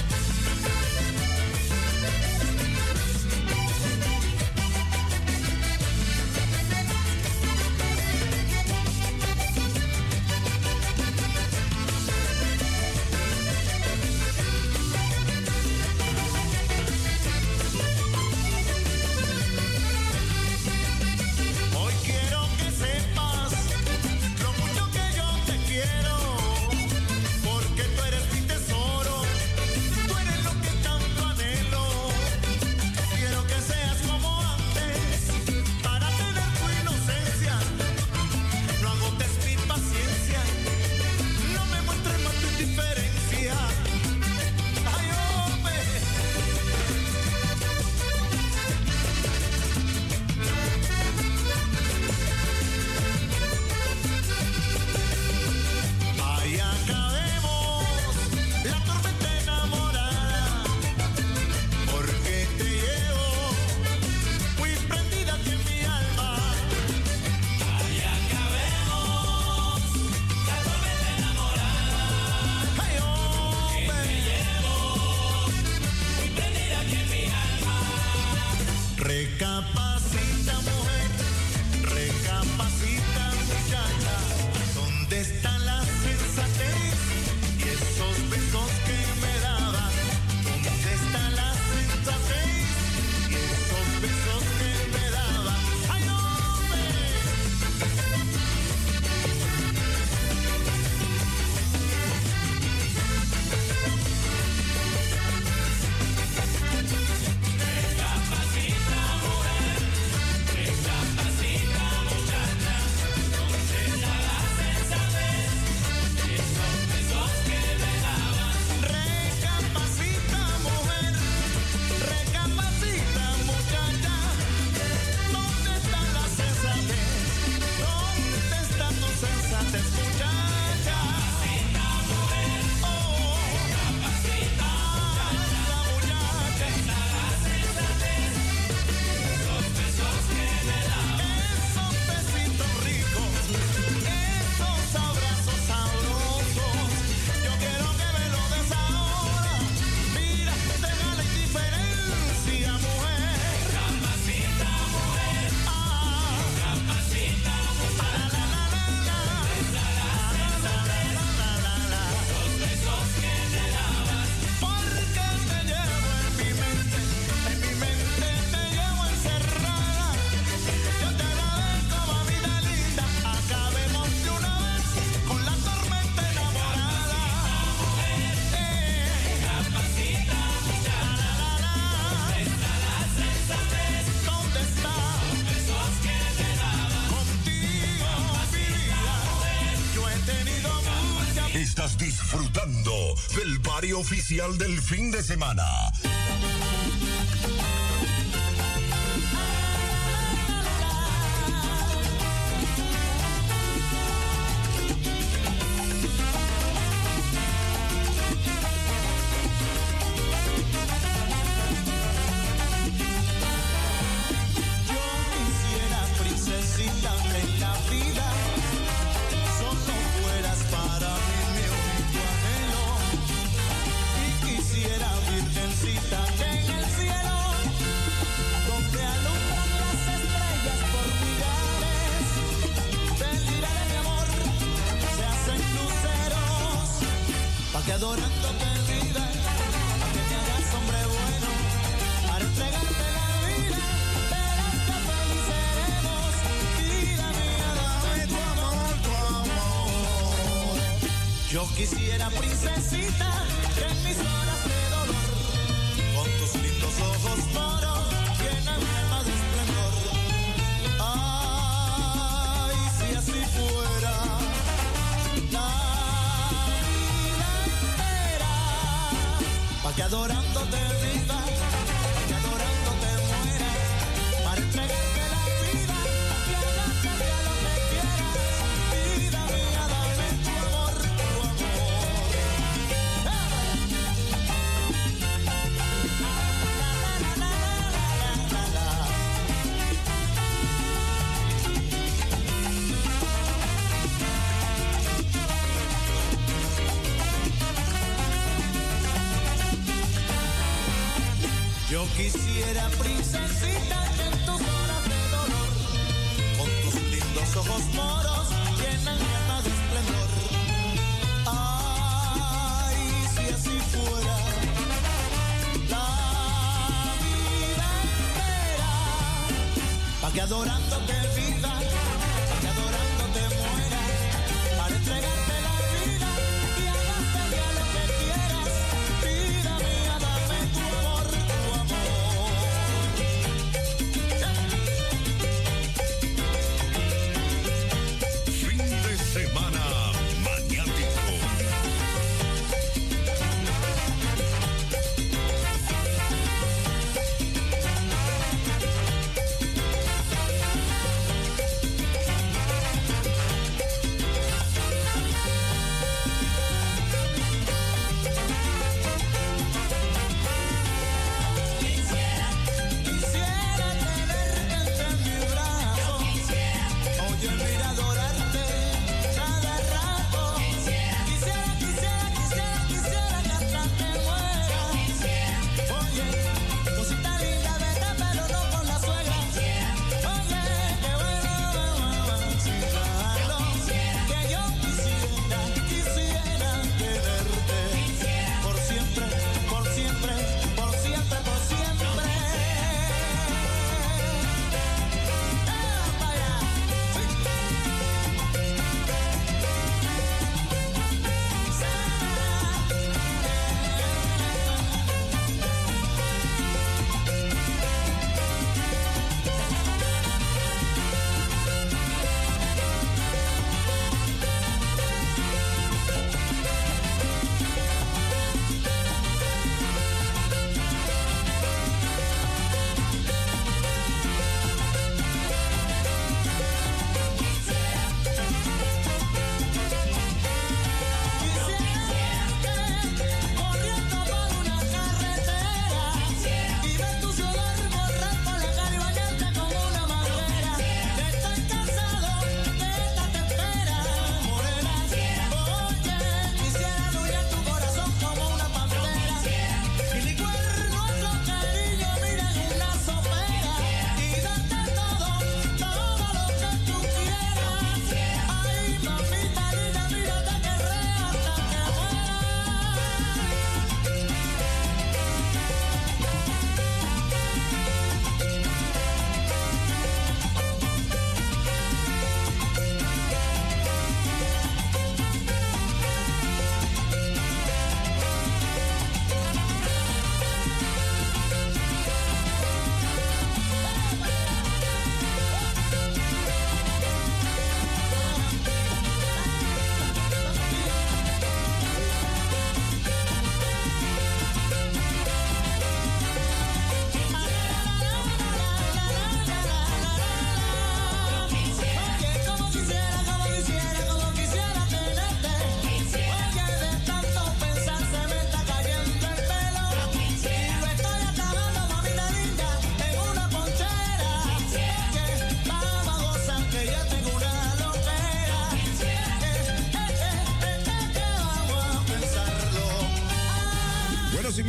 Hoy quiero que sepas lo mucho que yo te quiero, porque tú eres mi tesoro, tú eres lo que tanto anhelo. Quiero que seas como antes, para tener tu inocencia. No agotes mi paciencia, no me muestres más tu indiferencia. Ay, hombre. Ahí acabemos la tormenta enamorada, porque te llevo muy prendida aquí en mi alma. Ahí acabemos la tormenta enamorada, ay, hombre, te llevo muy prendida aquí en mi alma. Recapacita, mujer, recapacita, muchacha, ¿dónde está la sensatez y esos besos que me dabas? ¿Dónde está la sensatez y esos besos que me dabas? ¡Ay, hombre! Recapacita, mujer, oficial del fin de semana. Adorándote vida, a que te hagas hombre bueno, para entregarte la vida, verás que feliz seremos. Vida mía, dame tu amor. Yo quisiera, princesita, que en mis horas de dolor, con tus lindos ojos moros, llenan mi alma de esplendor. Ay, si así fuera. Que adorándote viva, que adorándote muera, para entregarte la vida, y agárrate a lo que quieras. Vida mía, dame tu amor, tu Yo quisiera, princesita, que en tus horas de dolor, con tus lindos ojos moros, llenan mi alma de esplendor. Ay, si así fuera la vida entera, pa' que adorándote viva, pa' que adorándote muera, para entregarte la vida y hagarte a lo que quieras. Vida mía, dame tu amor. Semana Maniático.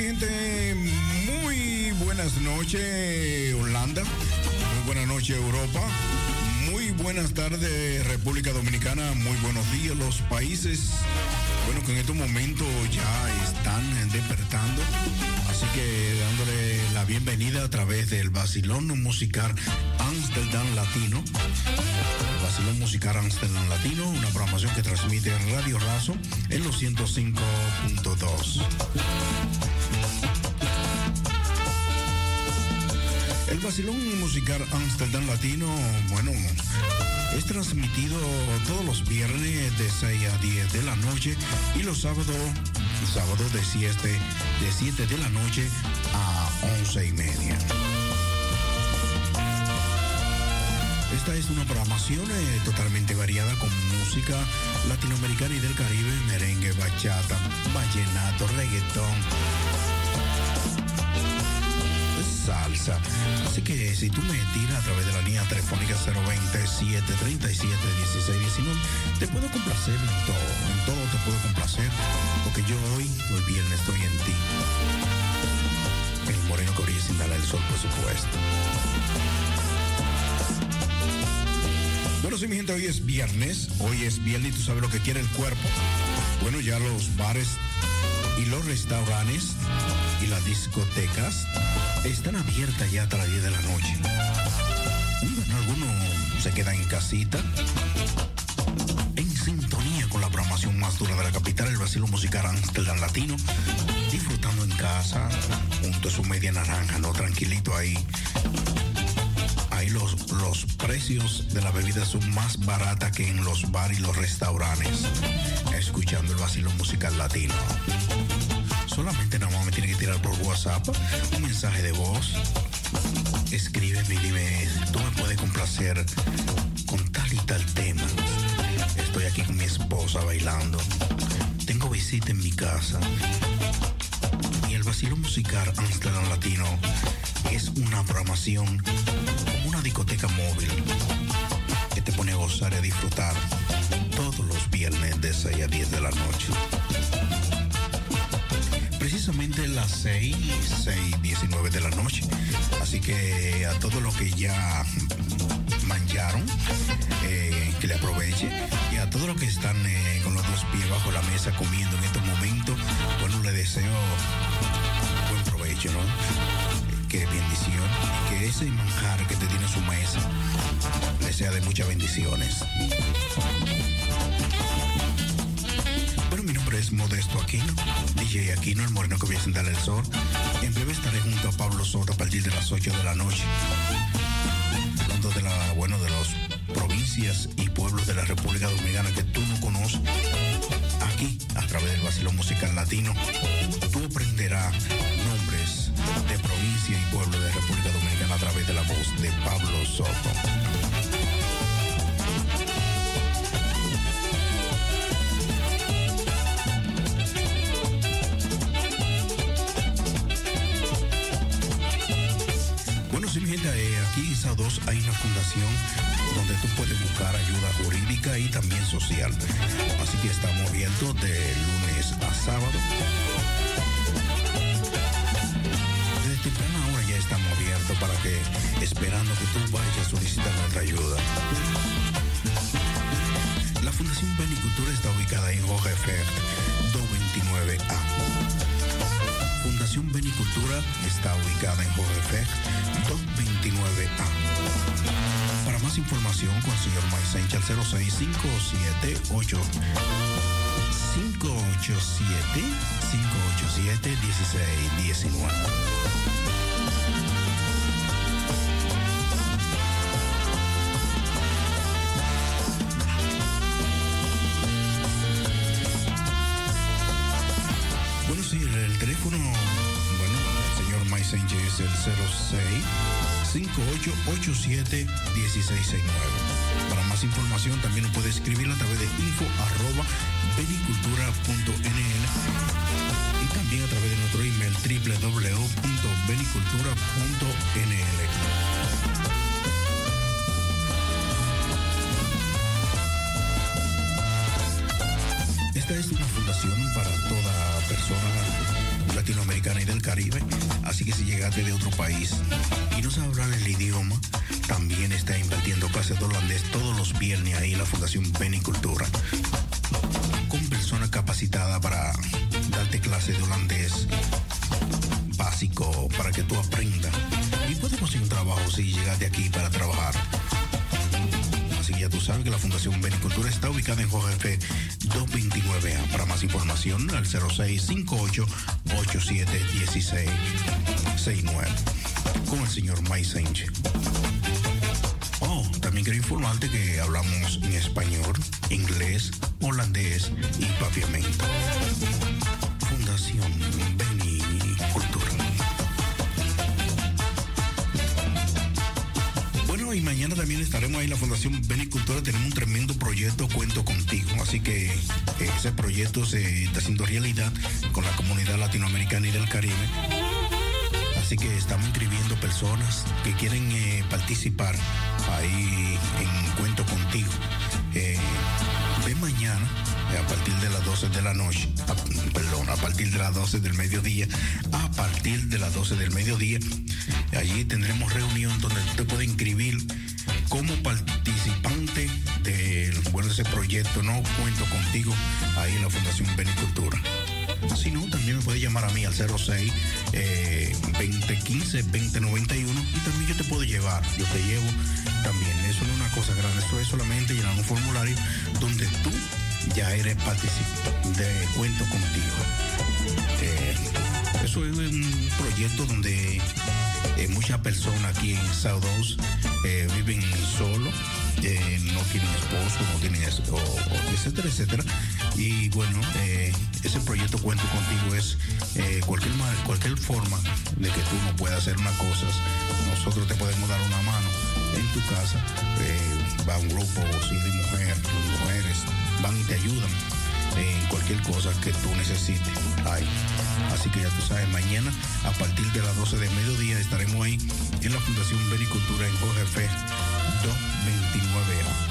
mi gente, muy buenas noches, Holanda. Muy buenas noches, Europa. Muy buenas tardes, República Dominicana. Muy buenos días, los países. Bueno, que en estos momentos ya están despertando. Así que dándole la bienvenida a través del Vacilón Musical Amsterdam Latino. Vacilón Musical Amsterdam Latino, una programación que transmite Radio Razo en los 105.2. El Vacilón Musical Amsterdam Latino, bueno, es transmitido todos los viernes de 6 a 10 de la noche y los sábados de 7 de la noche a 11:30. Esta es una programación totalmente variada con música latinoamericana y del Caribe, merengue, bachata, vallenato, reggaetón, salsa. Así que si tú me tiras a través de la línea telefónica 027-37-16-19, te puedo complacer en todo te puedo complacer, porque yo hoy viernes estoy en ti. El moreno que brilla sin darle el sol, por supuesto. Bueno, sí, mi gente, hoy es viernes y tú sabes lo que quiere el cuerpo. Bueno, ya los bares y los restaurantes y las discotecas están abiertas ya hasta las 10 de la noche. Bueno, algunos se quedan en casita, en sintonía con la programación más dura de la capital, el Vacilón Musical Amsterdam Latino, disfrutando en casa, junto a su media naranja, ¿no? Tranquilito ahí. Ahí los precios de la bebida son más baratas que en los bares y los restaurantes, escuchando el Vacilón Musical Latino. Solamente nada más me tiene que tirar por WhatsApp un mensaje de voz. Escríbeme y dime, tú me puedes complacer con tal y tal tema. Estoy aquí con mi esposa bailando. Tengo visita en mi casa. Y el Vacilón Musical Amsterdam Latino es una programación como una discoteca móvil que te pone a gozar y a disfrutar todos los viernes de 6 a 10 de la noche. Precisamente las 6:19 de la noche. Así que a todos los que ya mancharon, que le aproveche. Y a todos los que están con los dos pies bajo la mesa comiendo en estos momentos, bueno, le deseo buen provecho, ¿no? Qué bendición. Y que ese manjar que te tiene en su mesa le sea de muchas bendiciones. Bueno, mi nombre es Modesto Aquino, DJ Aquino, el moreno que voy a sentar el sol. En breve estaré junto a Pablo Soto a partir de las 8 de la noche. Hablando de de las provincias y pueblos de la República Dominicana que tú no conoces. Aquí, a través del Vacilón Musical Latino, tú aprenderás nombres de provincia y pueblo de la República Dominicana a través de la voz de Pablo Soto. Sí, mi gente, aquí en SA2 hay una fundación donde tú puedes buscar ayuda jurídica y también social. Así que estamos abiertos de lunes a sábado. Desde temprana hora ya estamos abiertos para que, esperando que tú vayas a solicitar nuestra ayuda. La Fundación Benicultura está ubicada en Jorge Fert 229A. Fundación Benicultura está ubicada en Jorge Fert 229A. Para más información con el señor Maisencha al 06-587-1619. Bueno, sí, el teléfono, el señor Maisencha es el 06-5887-1669. Para más información también nos puede escribir a través de info@benicultura.nl y también a través de nuestro email www.benicultura.nl. Esta es una fundación para toda persona latinoamericana y del llegaste de otro país y no sabes hablar el idioma, también está impartiendo clases de holandés todos los viernes ahí en la Fundación Benicultura, con personas capacitadas para darte clases de holandés básico para que tú aprendas y puedes conseguir un trabajo si llegaste aquí para trabajar. Así que ya tú sabes que la Fundación Benicultura está ubicada en Jorge F. 229A. Para más información, al 0658-871669. Con el señor Mike Sánchez. Oh, también quiero informarte que hablamos en español, inglés, holandés y papiamento. Fundación Benicultura. Bueno, y mañana también estaremos ahí en la Fundación Benicultura. Tenemos un tremendo proyecto, Cuento Contigo. Así que ese proyecto se está haciendo realidad con la comunidad latinoamericana y del Caribe. Así que estamos inscribiendo personas que quieren participar ahí en Cuento Contigo. Ven mañana a partir de las 12 de la noche, a partir de las 12 del mediodía, allí tendremos reunión donde te puedes inscribir como participante de ese proyecto, no Cuento Contigo, ahí en la Fundación Benicultura. Si no, también me puedes llamar a mí al 06-2015-2091 y también yo te puedo llevar, yo te llevo también. Eso no es una cosa grande, eso es solamente llenar un formulario donde tú ya eres participante de Cuento Contigo. Eso es un proyecto donde muchas personas aquí en South Oaks viven solo, no tienen esposo, no tienen etcétera, etcétera. Y bueno, ese proyecto Cuento Contigo es cualquier forma de que tú no puedas hacer una cosa. Nosotros te podemos dar una mano en tu casa. Va un grupo de mujeres van y te ayudan en cualquier cosa que tú necesites. Así que ya tú sabes, mañana a partir de las 12 de mediodía estaremos ahí en la Fundación Benicultura en Jorge F. 229A.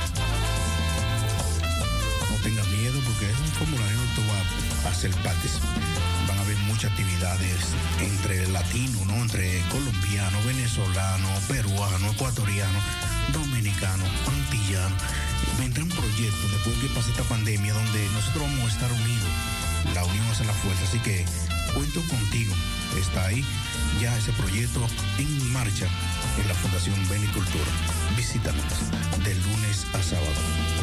No tengas miedo porque es un formulario donde tú vas a hacer parte. Van a haber muchas actividades entre latinos, ¿no? Entre colombianos, venezolanos, peruanos, ecuatorianos, dominicanos, antillanos. Vendrá un proyecto después que pase esta pandemia donde nosotros vamos a estar unidos. La unión hace la fuerza, así que Cuento Contigo está ahí, ya ese proyecto en marcha en la Fundación Benicultura. Visítanos de lunes a sábado.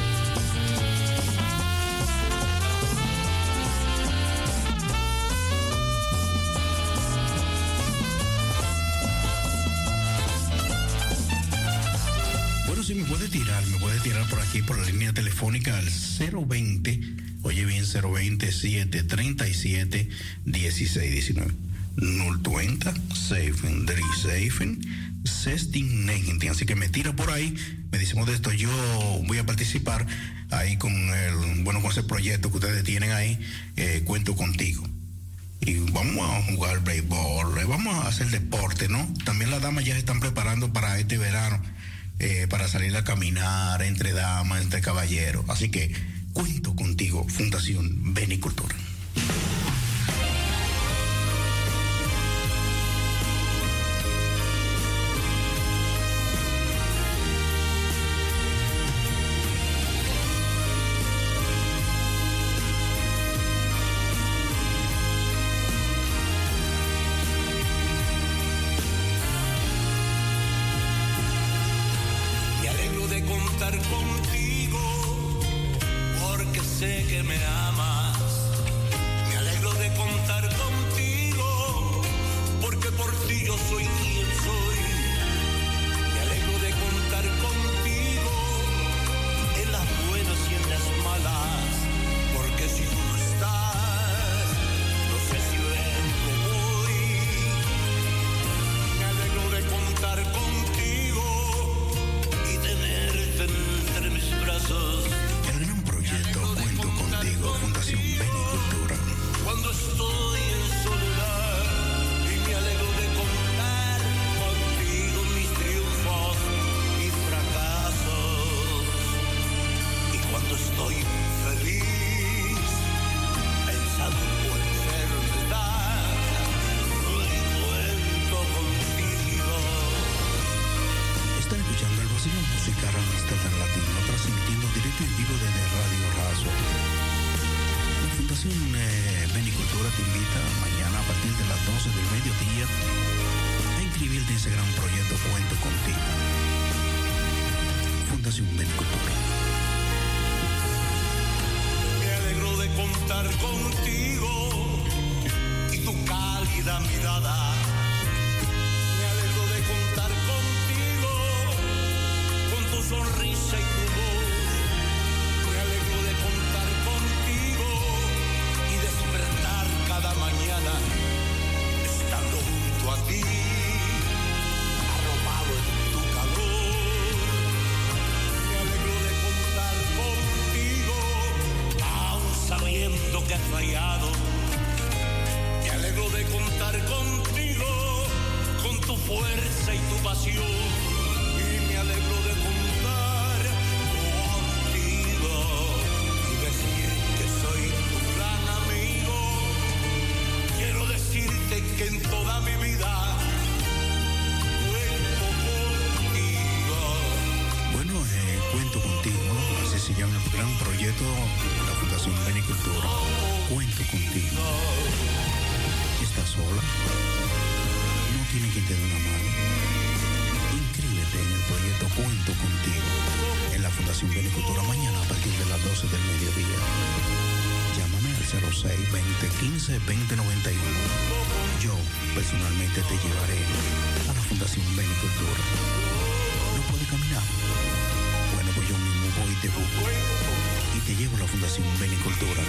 Bueno, si me puede tirar por aquí por la línea telefónica al 020, oye bien, 020-737-1619. 020 1619. Así que me tira por ahí, me dice Modesto, yo voy a participar ahí con ese proyecto que ustedes tienen ahí, Cuento Contigo. Y vamos a jugar béisbol, vamos a hacer deporte, ¿no? También las damas ya se están preparando para este verano, para salir a caminar entre damas, entre caballeros. Así que Cuento Contigo, Fundación Benicultura. Fundación musical Amsterdam Latino, transmitiendo directo y en vivo desde Radio Razo. La Fundación Benicultura te invita mañana a partir de las 12 del mediodía a inscribirte en ese gran proyecto Cuento Contigo. Fundación Benicultura. Me alegro de contar contigo y tu cálida mirada. Me alegro de contar contigo con tu sonrisa y tu voz. Me alegro de contar contigo y despertar cada mañana estando junto a ti, arropado en tu calor. Me alegro de contar contigo, aún sabiendo que has fallado. Me alegro de contar contigo, con tu fuerza y tu pasión. Y me alegro de contar contigo y decir que soy tu gran amigo. Quiero decirte que en toda mi vida cuento contigo. Bueno, Cuento Contigo, así se llama el gran proyecto de la Fundación Benicultura. Cuento Contigo. ¿Estás sola? No tiene quien te dé una mano. Inscríbete en el proyecto Cuento Contigo en la Fundación Benicultura mañana a partir de las 12 del mediodía. Llámame al 06-2015-2091. Yo personalmente te llevaré a la Fundación Benicultura. ¿No puedes caminar? Bueno, pues yo mismo voy y te busco y te llevo a la Fundación Benicultura.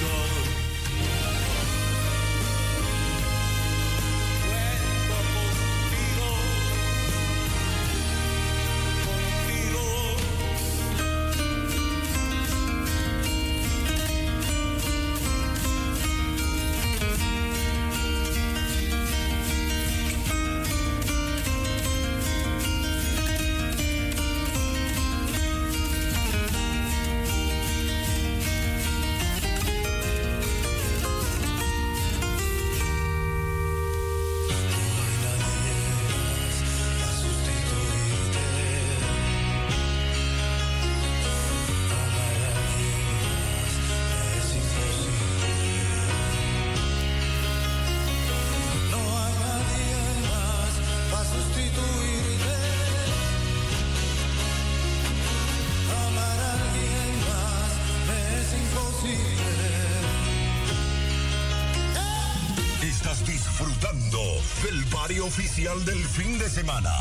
Estás disfrutando del barrio oficial del fin de semana.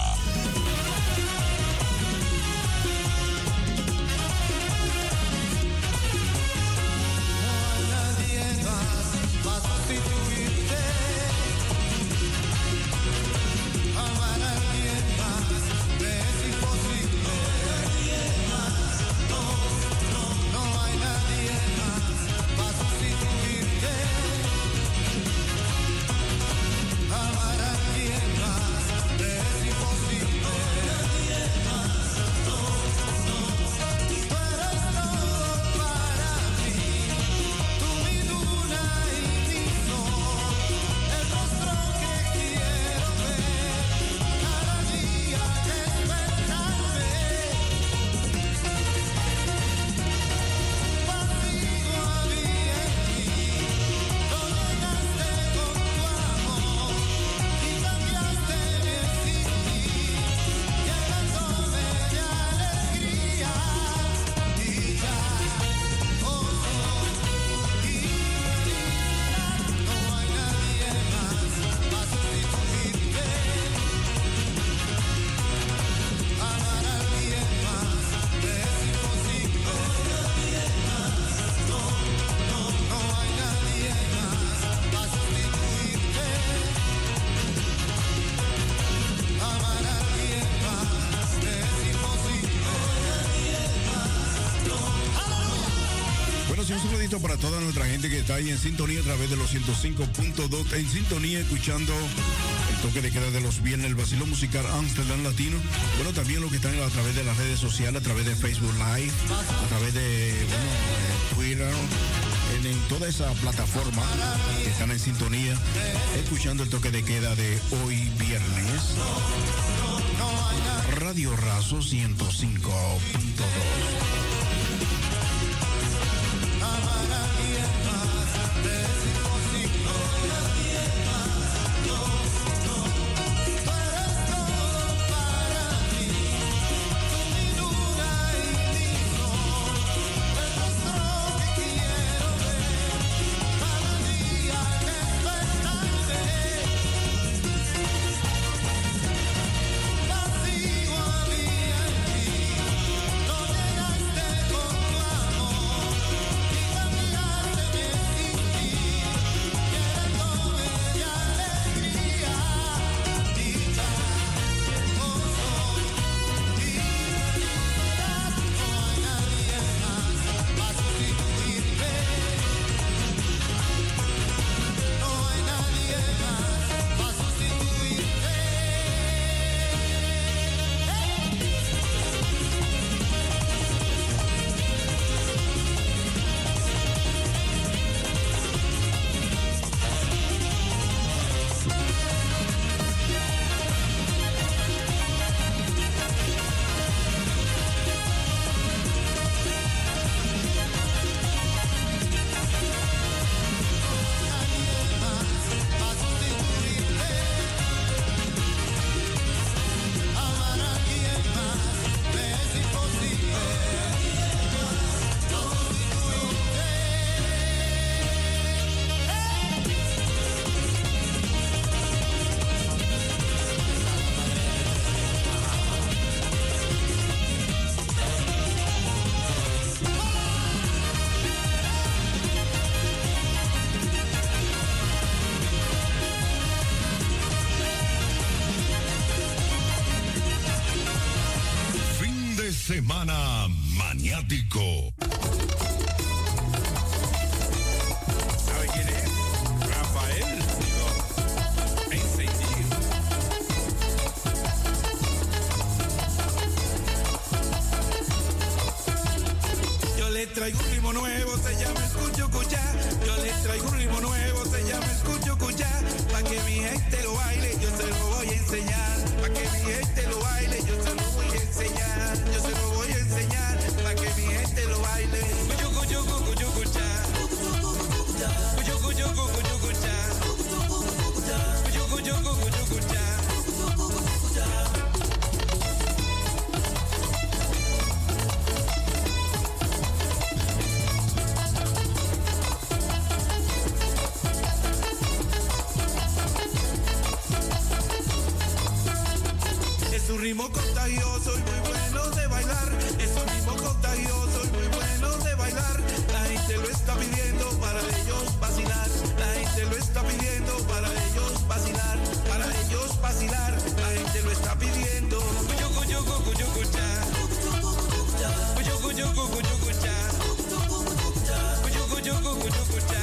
Un saludito para toda nuestra gente que está ahí en sintonía a través de los 105.2, en sintonía escuchando el toque de queda de los viernes, el vacilón musical Amsterdam Latino. Bueno, también los que están a través de las redes sociales, a través de Facebook Live, a través de Twitter, en toda esa plataforma que están en sintonía escuchando el toque de queda de hoy viernes. Radio Razo 105.2. Semana Maniático. ¿Sabe quién es? Rafael. Encendido. Yo le traigo un ritmo nuevo, se llama Escucho Cuchá. Yo le traigo un ritmo nuevo, se llama Escucho Cuchá. Pa' que mi gente lo baile, yo se lo voy a enseñar. Pa' que mi gente lo baile, yo se lo voy a enseñar. Yo se lo voy a enseñar, pa' que mi gente lo baile. Cuyo, cuyo, cuyo, cuchá. Cuyo, cuyo, cuyo, cuchá. Cuyo, cuyo, cuyo, cuchá. Es un ritmo contagioso y muy bueno de bailar. Es un ritmo contagioso y muy bueno de bailar. La gente lo está pidiendo para ellos vacilar. La gente lo está pidiendo para ellos vacilar. Para ellos vacilar. La gente lo está pidiendo. Cuyo, cuyo, cuyo, cuchá. Cuyo, cuyo, cuyo, cuchá. Cuyo, cuyo, cuyo, cuchá.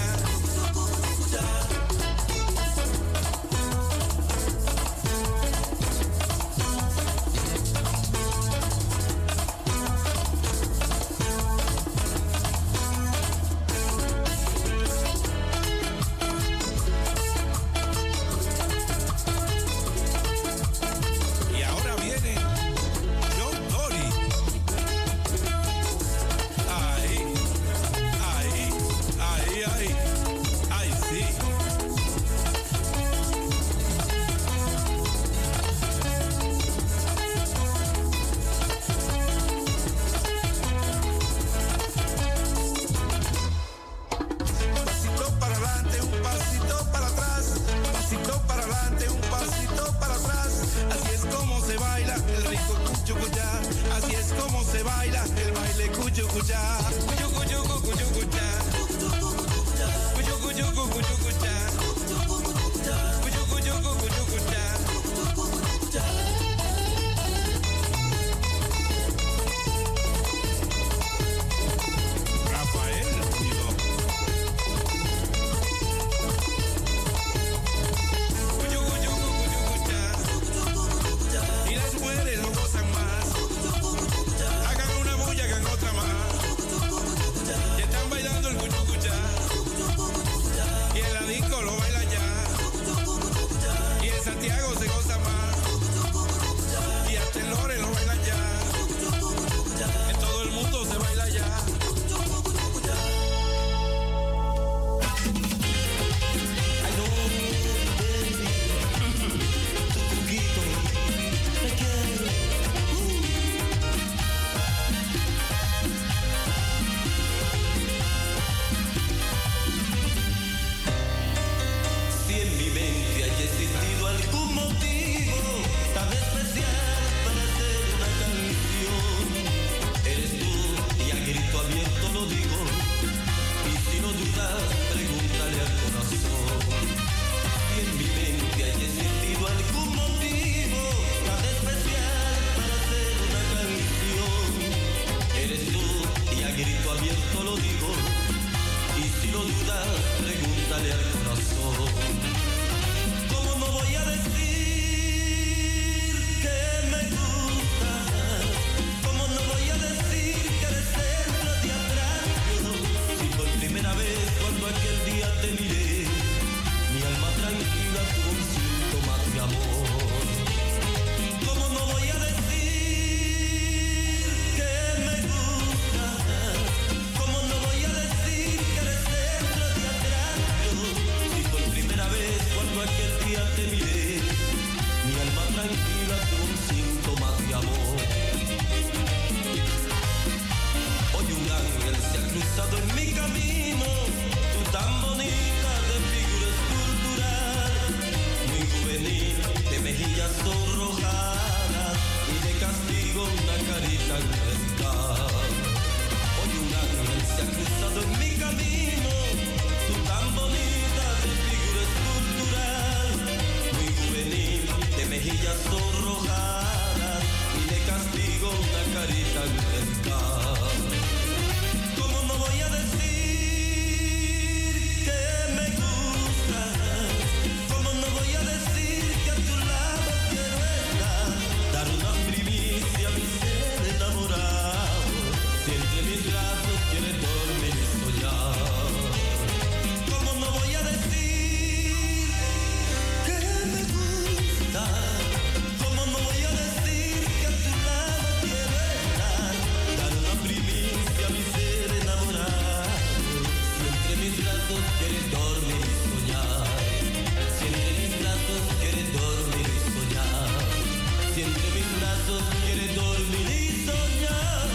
alma tranquila con síntomas de amor. Hoy un ángel se ha cruzado en mi camino, tú tan bonita de figura escultural, muy juvenil, de mejillas sonrojadas y de castigo una carita angelical. Hoy un ángel se ha cruzado en mi camino, tú tan bonita de figura escultural, muy juvenil, de mejillas sonrojadas y de castigo una carita angelical. ¿Cómo no voy a decir que me gustas? ¿Cómo no voy a decir que a tu lado quiero estar? Dar una primicia a mi ser enamorado, si entre mis brazos quieres dormir y soñar. ¿Cómo no voy a decir que me gusta? ¿Cómo no voy a decir que a tu lado quiero estar? Dar una primicia a mi ser enamorado, si entre mis brazos quieres dormir y soñar. Si entre mis brazos quieres dormir y soñar. Si entre mis brazos quieres dormir y soñar.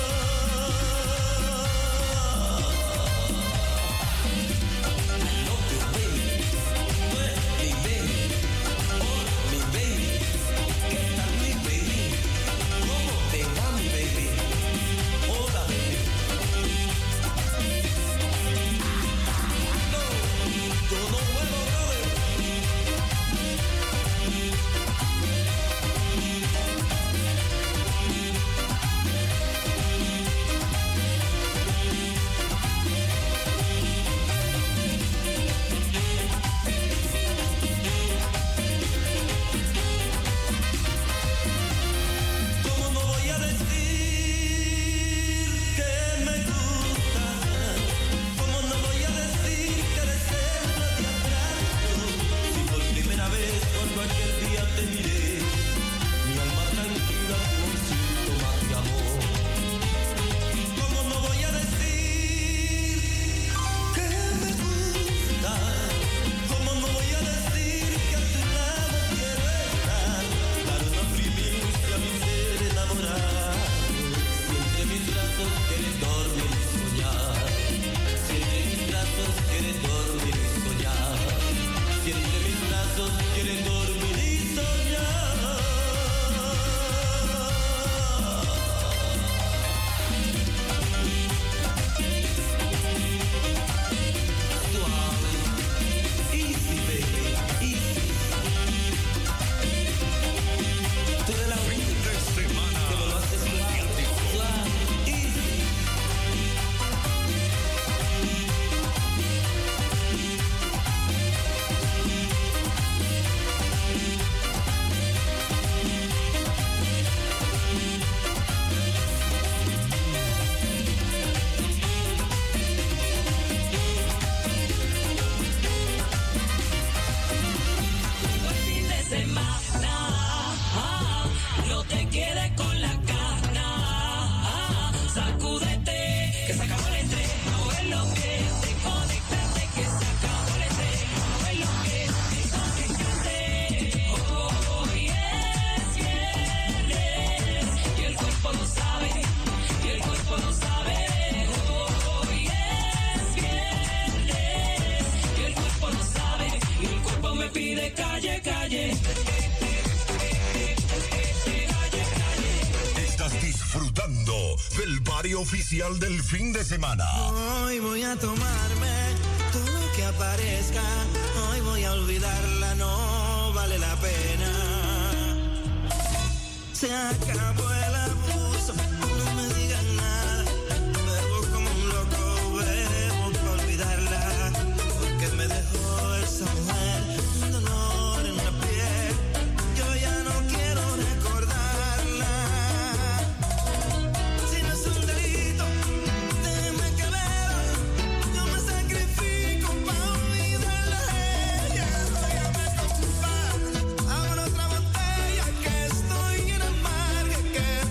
¿Cómo no voy a decir que me gustas? ¿Cómo no voy a decir que eres centro de atracto? Si por primera vez cuando aquel día te miré, mi alma tranquila con síntomas de amor. ¿Cómo no voy a decir que me gustas? ¿Cómo no voy a decir que a tu lado quiero estar? Dar una primicia a mi ser enamorado, si entre mis brazos quieres dormir y soñar. Si entre mis brazos quieres dormir y soñar. Si entre mis brazos quieres dormir y soñar. Suave, easy baby, easy. Tú eres la única que me lo haces suave, suave, easy. El fin de semana, no te quedes con la gana. Sacúdete, que se acabó el estrés. No es lo que te conectaste, que se acabó el estrés. No es lo que te conectaste. Hoy es viernes y el cuerpo lo sabe, y el cuerpo lo sabe. Hoy es viernes y el cuerpo lo sabe, y el cuerpo me pide calle, calle. Estás disfrutando del barrio oficial del fin de semana. Hoy voy a tomarme todo lo que aparezca. Hoy voy a olvidarla, no vale la pena. Se acabó el abuso, no me digan nada. Bebo como un loco, bebo para olvidarla. Porque me dejó esa mujer un dolor en la piel. Yo ya no quiero recordarla. Si no es un delito, déjeme que beba. Yo me sacrifico para olvidarla a ella. Óigame, compadre, abra otra botella que estoy en amarga, que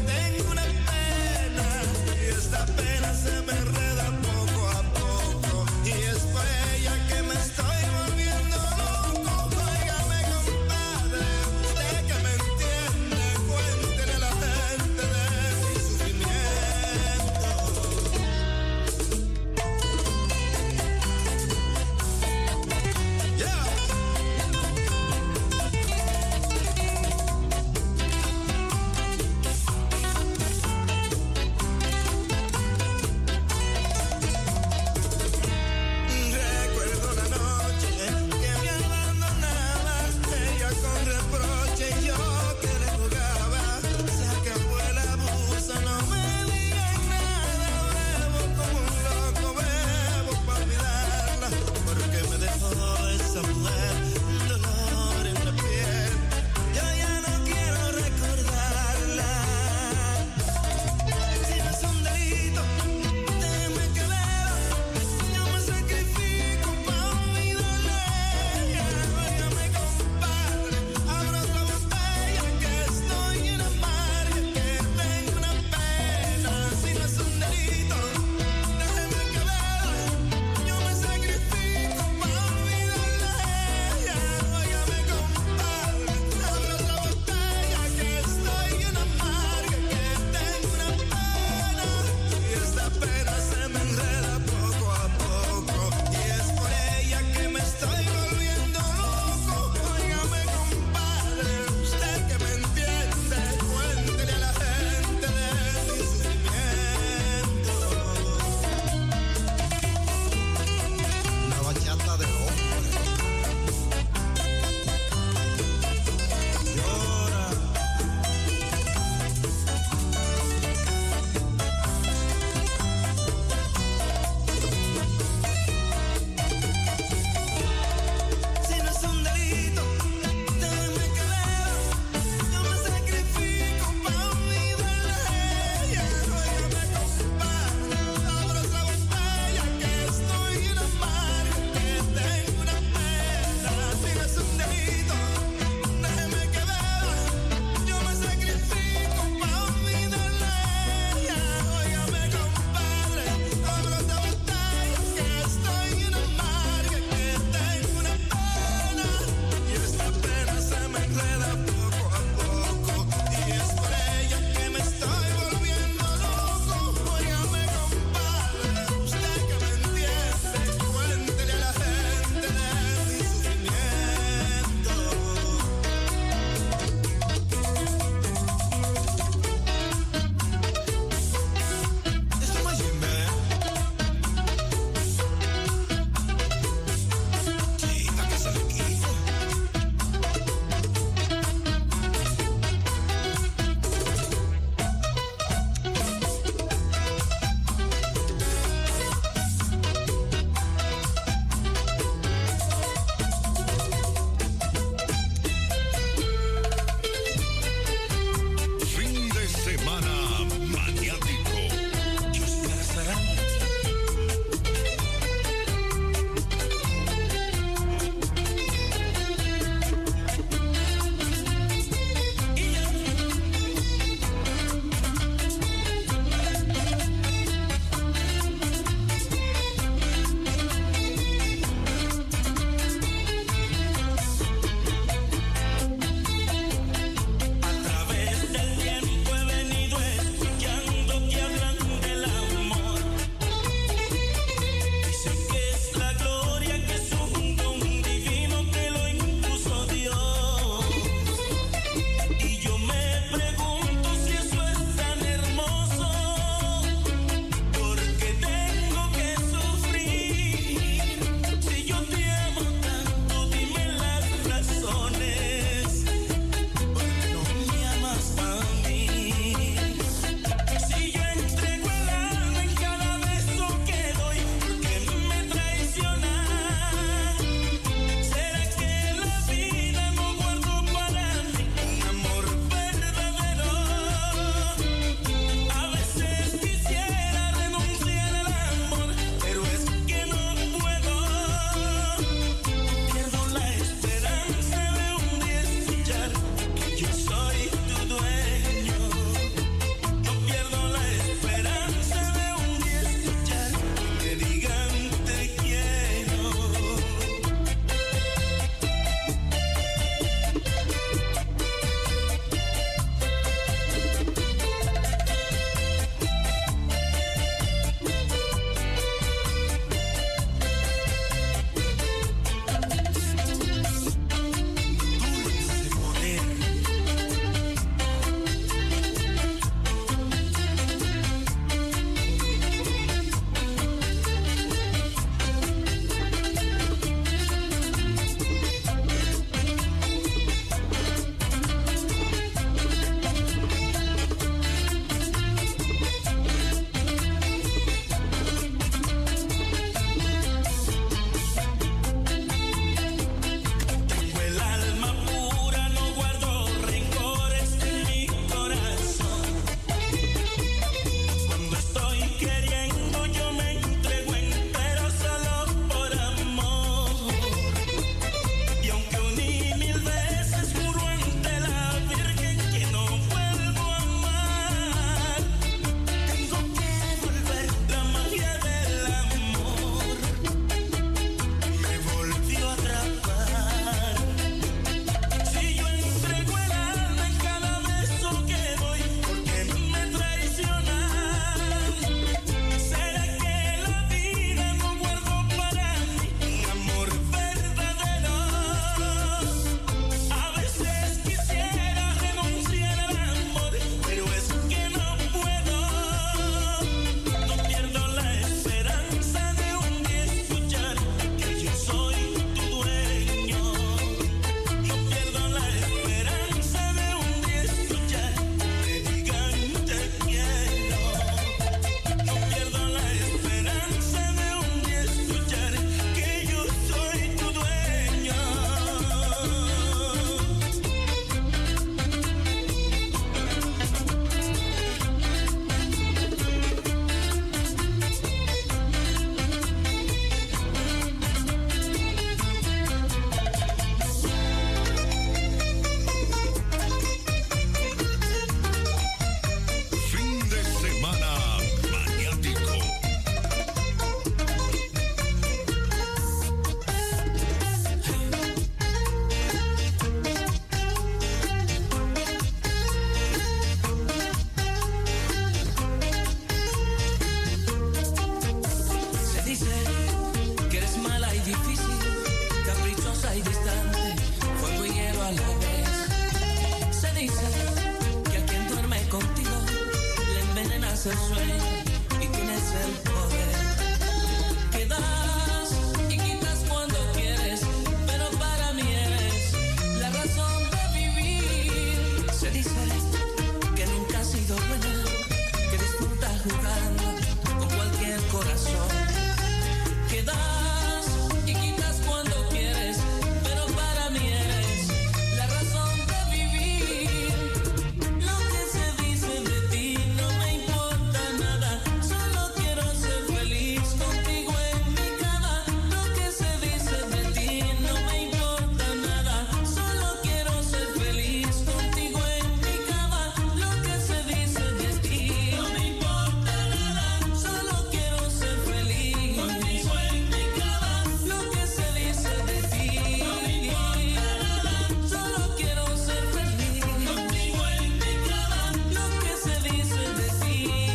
dice que a quien duerme contigo le envenenas el sueño y tienes el poder que das y quitas cuando quieres, pero para mí eres la razón de vivir. Se dice que nunca has sido buena, que disfrutas jugando con cualquier corazón, que das y quitas cuando quieres, pero para mí eres la razón de vivir. Lo que se dice de ti no me importa nada, solo quiero ser feliz contigo en mi cama. Lo que se dice de ti no me importa nada, solo quiero ser feliz contigo en mi cama. Lo que se dice de ti no me importa nada, solo quiero ser feliz contigo en mi cama. Lo que se dice de ti no me importa nada, solo quiero ser feliz contigo en mi cama. Lo que se dice de ti.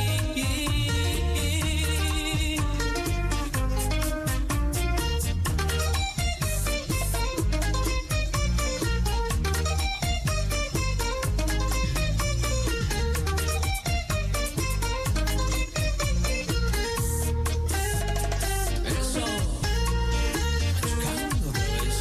Eso, machucando otra vez.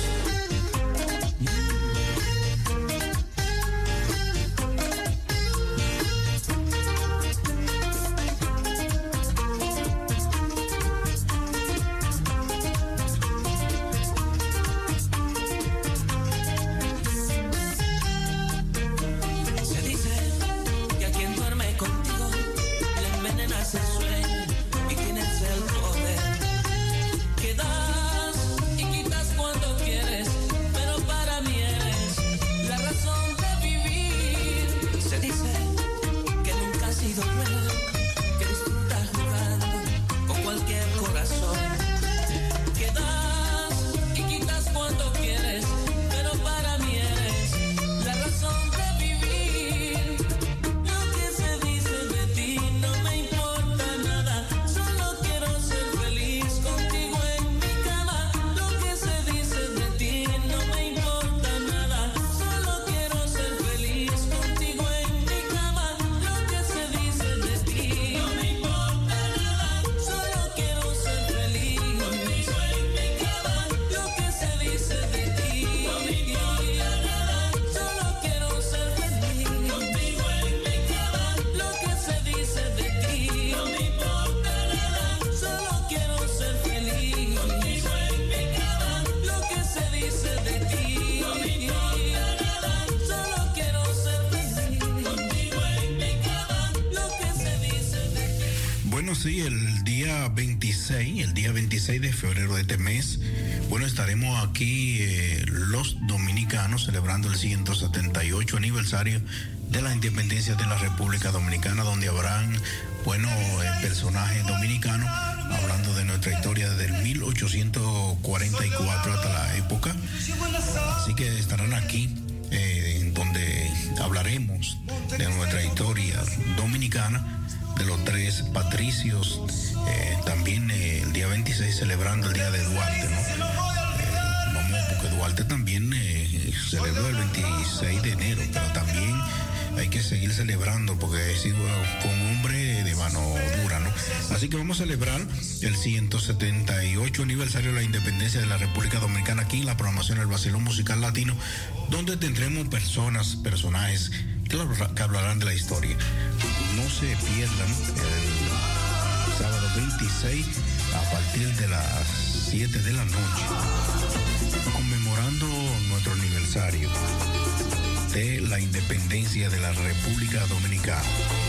Se dice que a quien duerme contigo le envenenas el sueño y tienes el poder que das y quitas cuando quieres, pero para mí eres la razón de vivir. Se dice que nunca has sido buena, que disfrutas jugando con cualquier corazón, que das y quitas cuando quieres, pero para mí eres la razón de vivir. Lo que se dice de ti no me importa nada, solo quiero ser feliz contigo en mi cama. Lo que se dice de ti no me importa nada, solo quiero ser feliz contigo en mi cama. Lo que se dice de ti no me importa nada, solo quiero ser feliz contigo en mi cama. Lo que se dice de ti no me importa nada, solo quiero ser feliz contigo en mi cama. Lo que se dice de ti no me importa nada, solo quiero ser feliz contigo en mi cama. Lo que se dice de ti no me importa nada, solo quiero ser feliz contigo en mi cama. Lo que se dice de ti. Bueno, sí, el día 26 de febrero de este mes, bueno, estaremos aquí los dominicanos celebrando el 178 aniversario de la independencia de la República Dominicana, donde habrán, bueno, personajes dominicanos hablando de nuestra historia desde el 1844 hasta la época. Así que estarán aquí, en donde hablaremos de nuestra historia dominicana, de los tres patricios, también el día 26 celebrando el día de Duarte, ¿no? Vamos, porque Duarte también celebró el 26 de enero, pero también hay que seguir celebrando porque fue un hombre de mano dura, ¿no? Así que vamos a celebrar el 178 aniversario de la independencia de la República Dominicana aquí en la programación del Vacilón Musical Latino, donde tendremos personajes que hablarán de la historia. No se pierdan el sábado 26 a partir de las 7 de la noche, conmemorando nuestro aniversario de la independencia de la República Dominicana.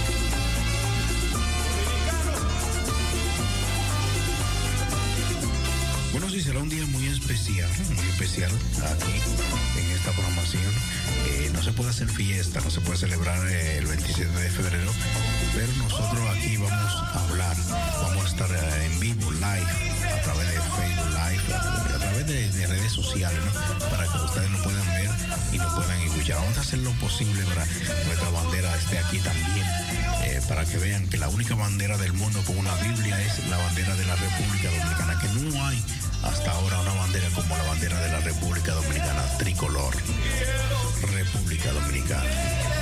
Bueno, sí, será un día muy especial aquí en esta programación. No se puede hacer fiesta, no se puede celebrar el 27 de febrero, pero nosotros aquí vamos a hablar, vamos a estar en vivo, live, a través de Facebook Live, a través de redes sociales, ¿no? Para que ustedes nos puedan ver y nos puedan escuchar. Vamos a hacer lo posible para que nuestra bandera esté aquí también, para que vean que la única bandera del mundo con una Biblia es la bandera de la República Dominicana, que no hay hasta ahora una bandera como la bandera de la República Dominicana, tricolor, República Dominicana.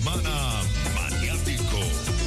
semana maniático.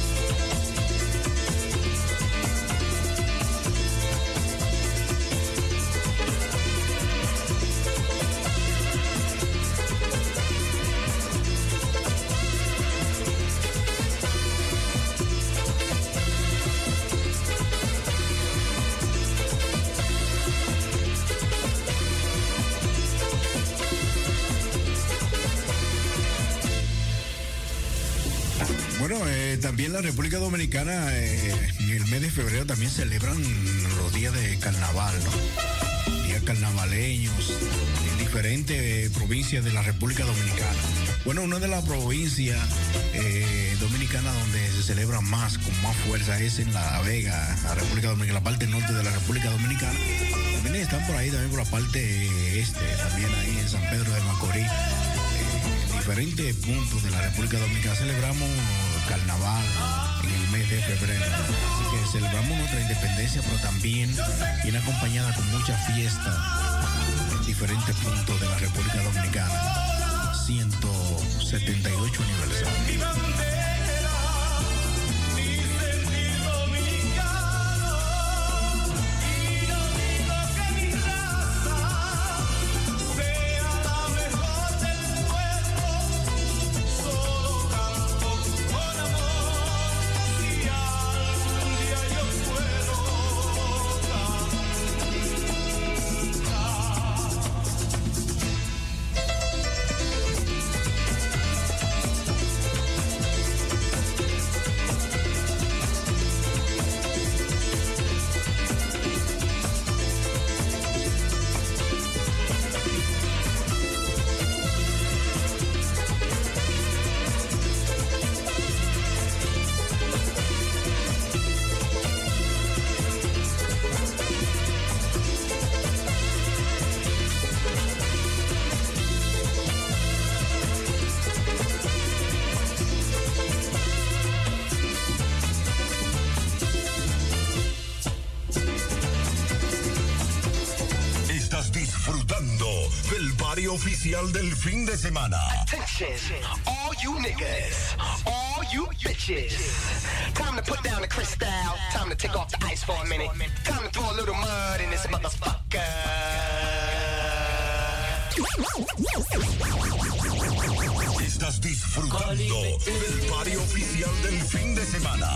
Bueno, también la República Dominicana en el mes de febrero también celebran los días de carnaval, ¿no? Días carnavaleños en diferentes provincias de la República Dominicana. Bueno, una de las provincias dominicanas donde se celebra más, con más fuerza, es en La Vega, la República Dominicana, la parte norte de la República Dominicana. También están por ahí, también por la parte este, también ahí en San Pedro de Macorís. Diferentes puntos de la República Dominicana celebramos carnaval en el mes de febrero. Así que celebramos nuestra independencia, pero también viene acompañada con mucha fiesta en diferentes puntos de la República Dominicana. 178 aniversario. Oficial del fin de semana. Attention, all you niggas, all you bitches. Time to put down the crystal, time to take off the ice for a minute. Time to throw a little mud in this motherfucker. Estás disfrutando del party oficial del fin de semana.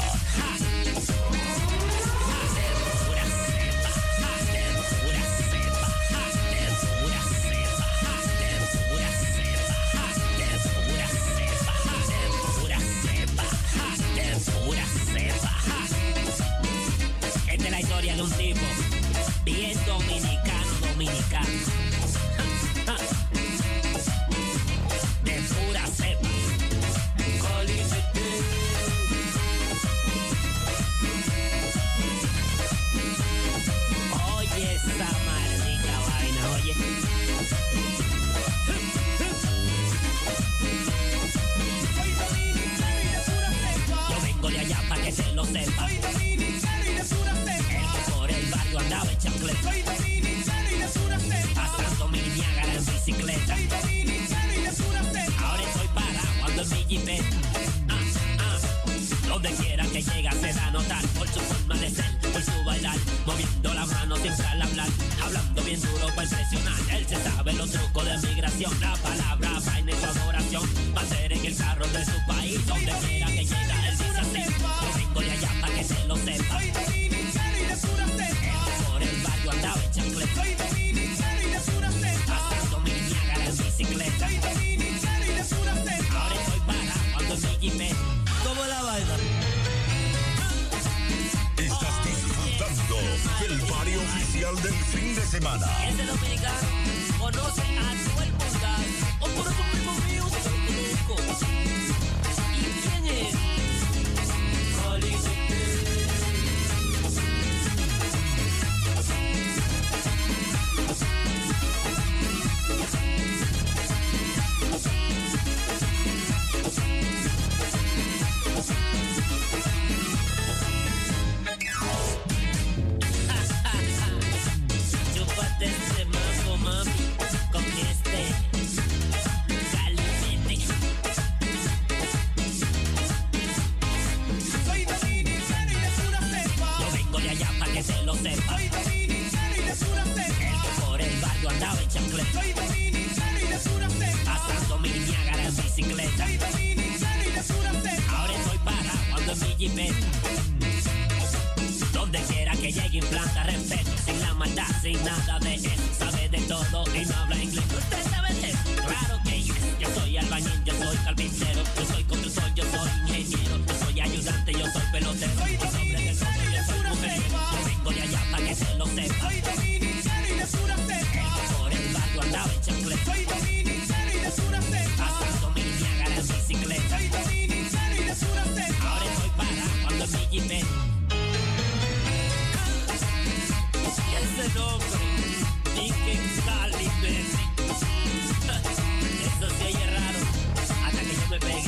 De un tipo bien dominicano, de pura cepa. Oye esa maldita vaina, oye. Yo vengo de allá para que se lo sepa. Andaba en chancleta, soy dominicano y de sur a cepa, pasando mi Niágara en bicicleta, soy dominicano y de sur a cepa, ahora estoy parado ando en mi jipeta, donde quiera que llega se da a notar, por su forma de ser, por su bailar, moviendo las manos siempre al hablar, hablando bien duro para impresionar, él se sabe los trucos de migración, la palabra vaina y su adoración, va a ser en el carro de su país, donde quiera que llega él dice así, yo vengo de allá para que se lo sepa, soy dominicano y de sur a cepa, andaba en chancleta, soy dominicano y de sur a cepa, pasando mi Niágara en bicicleta, soy dominicano y de sur a cepa, ahora estoy parado ando en mi jipeta. ¿Cómo la vaina? Estás disfrutando del party oficial del fin de semana. Este dominicano conoce a todo el mundo, o por eso primo mío se lo conozco. ¿Y quién es? Chúpate ese mambo, mami, con este caliente. jipeta. Donde quiera que llegue implanta respeto, sin la maldad, sin nada de eso. Sabe de todo y no habla inglés. ¿Usted sabe de eso? Claro que yes. Yo soy albañil, yo soy carpintero, yo soy constructor, yo soy ingeniero, yo soy ayudante, yo soy pelotero. Soy dominicano y de pura cepa. Yo vengo de allá para que se lo sepa. Soy dominicano y de pura cepa. Por el barrio andaba en chancleta. Soy dominicano y de pura cepa. Pasando mi Niágara en bicicleta. Soy dominicano y de pura cepa. Ahora estoy parado cuando en mi jipeta. Y ese nombre, Nicky Cali, baby. Eso sí es raro, hasta que yo me pegue.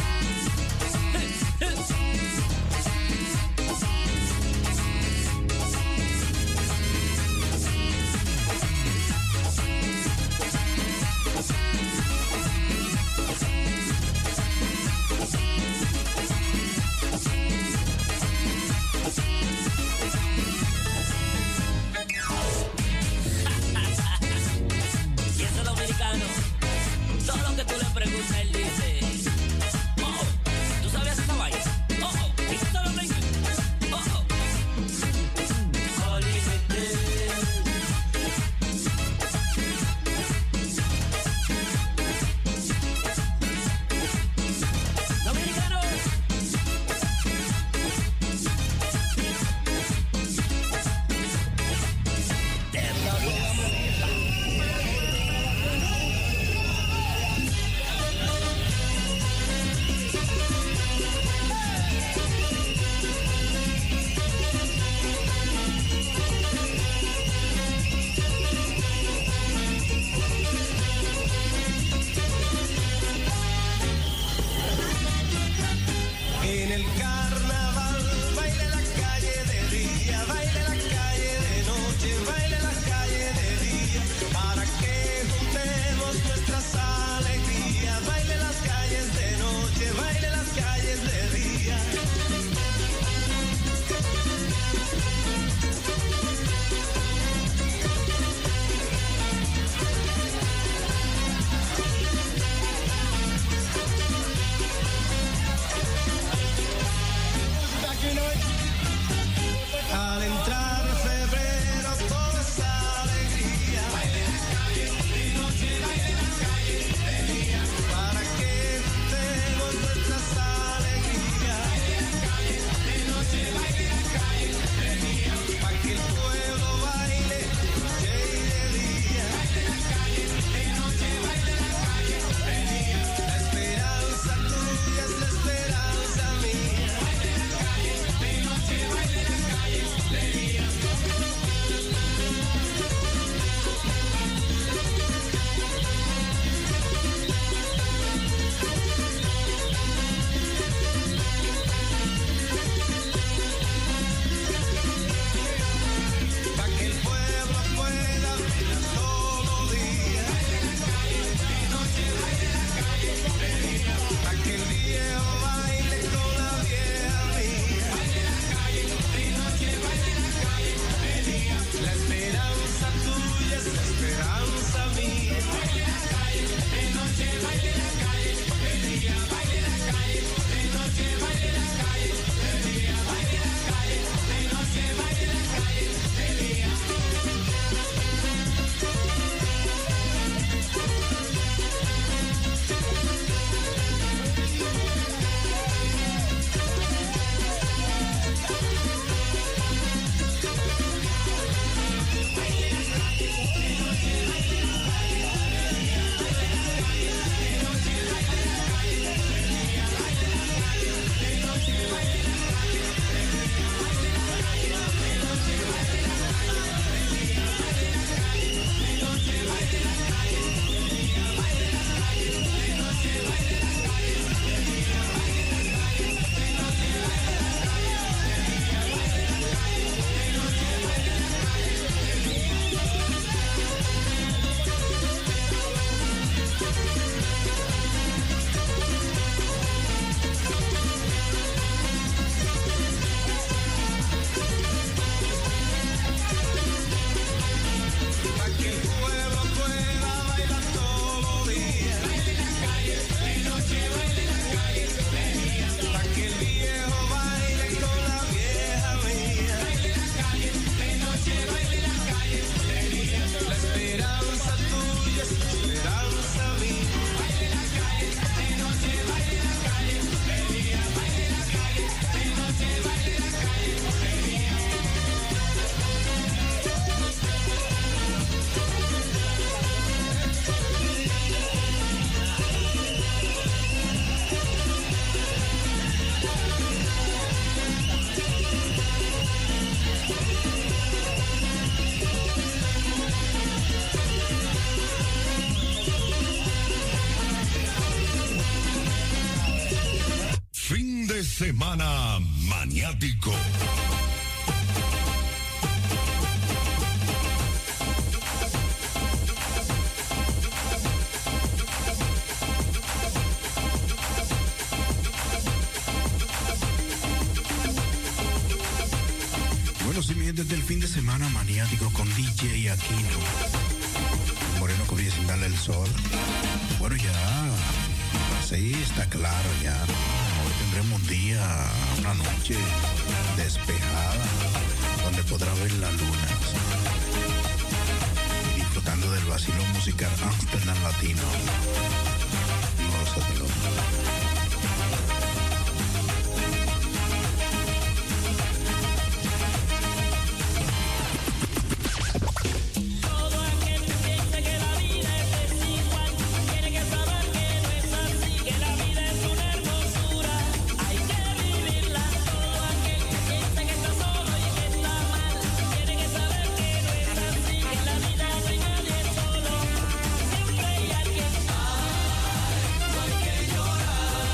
semana maniático. Bueno, sí, mi gente, desde el fin de semana maniático con DJ Aquino. Moreno que brilla sin darle el sol. Bueno, ya, sí, está claro ya. Hoy tendremos un día, una noche despejada, donde podrá ver la luna. Y disfrutando del vacilón musical Amsterdam Latino. Gózatelo. Siempre hay alguien, ay, no hay que llorar.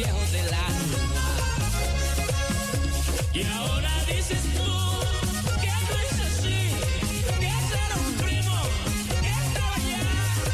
viejo del alma. Y ahora dices tú que no es así, que ese era un primo que estaba allá,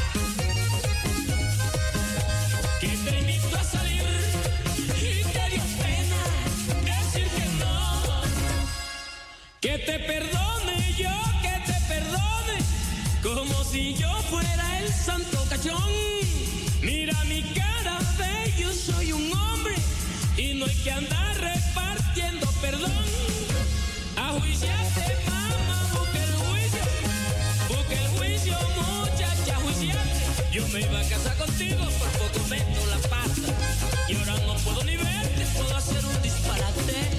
que te invitó a salir y te dio pena decir que no. Que te perdone yo, que te perdone, como si yo fuera el santo cachón. Mira mi cara, ve, yo soy un hombre y no hay que andar repartiendo perdón. Ajuiciate, mamá, busca el juicio, muchacha, ajuiciate. Yo me iba a casar contigo, por poco meto la pata y ahora no puedo ni verte, puedo hacer un disparate.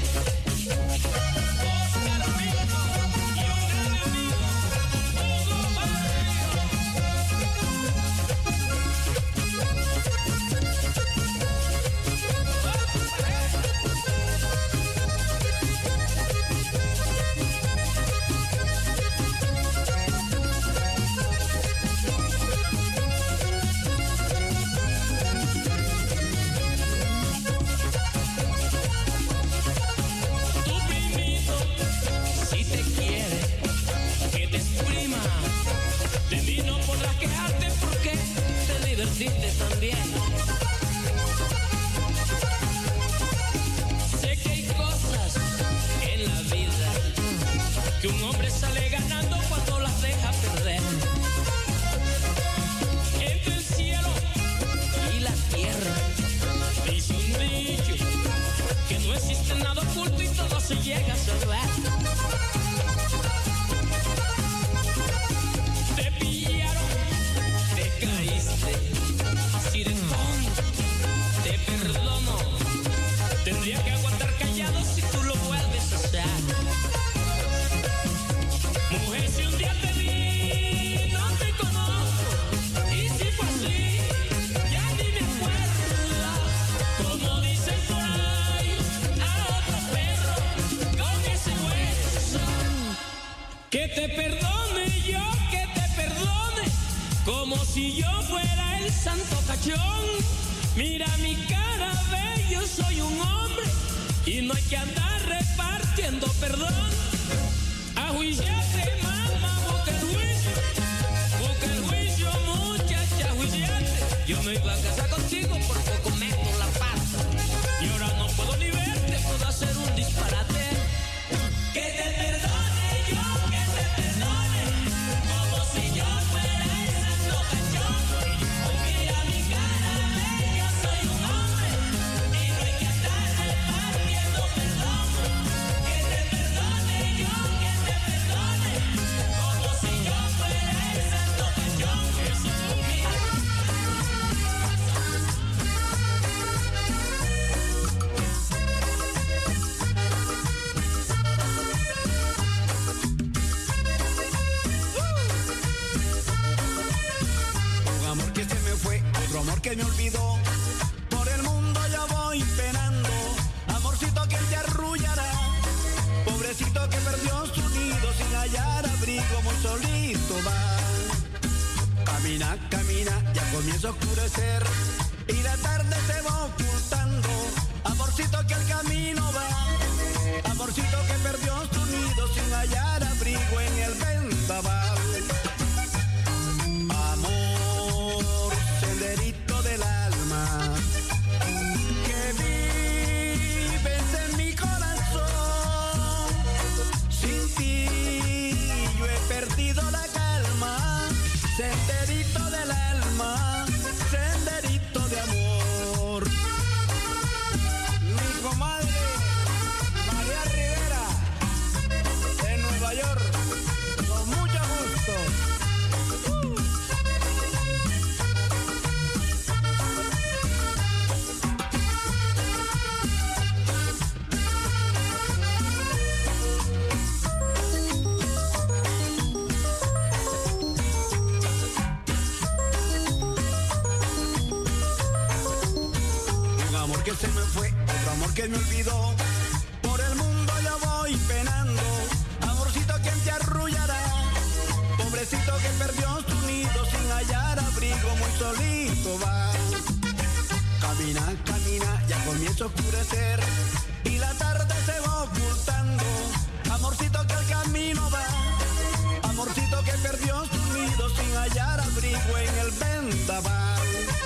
También sé que hay cosas en la vida que un hombre sale ganando cuando las deja perder. Entre el cielo y la tierra dice un dicho que no existe nada oculto y todo se llega a saber. Te pillaron, te caíste. Te perdono. Tendría que aguantar callado si tú lo vuelves a hacer. Mujer, si un día te vi, no te conozco. Y si fue así, ya ni me acuerdo. Como dicen por ahí, a otro perro con ese hueso. Que te perdone yo, que te perdone, como si yo fuera el santo cachón. Mira mi cara, ve, yo soy un hombre y no hay que andar repartiendo perdón. Ajuiciate, mamá, busca el juicio, muchacha, ajuiciate. Yo me iba a casar contigo, por poco meto la pata y ahora no puedo ni verte, puedo hacer un disparate. Que te perdone yo, que te perdone, como si yo fuera el santo cachón. Mira mi cara, ve, yo soy un hombre y no hay que andar repartiendo perdón. Que te perdone yo, que te perdone, como si yo fuera el santo cachón. Un amor que se me fue, otro amor que me olvidó. Por el mundo yo voy penando. Amorcito que te arrullará. Pobrecito que perdió su nido sin hallar abrigo, muy solito va. Camina, camina, ya comienza a oscurecer y la tarde se va ocultando. Amorcito que el camino va. Amorcito que perdió su nido sin hallar abrigo en el vendaval. Amor, senderito del alma, que vives en mi corazón. Sin ti yo he perdido la calma. Senderito del alma, senderito de amor. Mi comadre María Rivera, de Nueva York, con mucho gusto. Que se me fue, otro amor que me olvidó. Por el mundo yo voy penando. Amorcito, ¿quién te arrullará? Pobrecito que perdió su nido sin hallar abrigo, muy solito va. Camina, camina. camina, ya comienza a oscurecer y la tarde se va ocultando. Amorcito que al camino va, amorcito que perdió su nido sin hallar abrigo en el vendaval.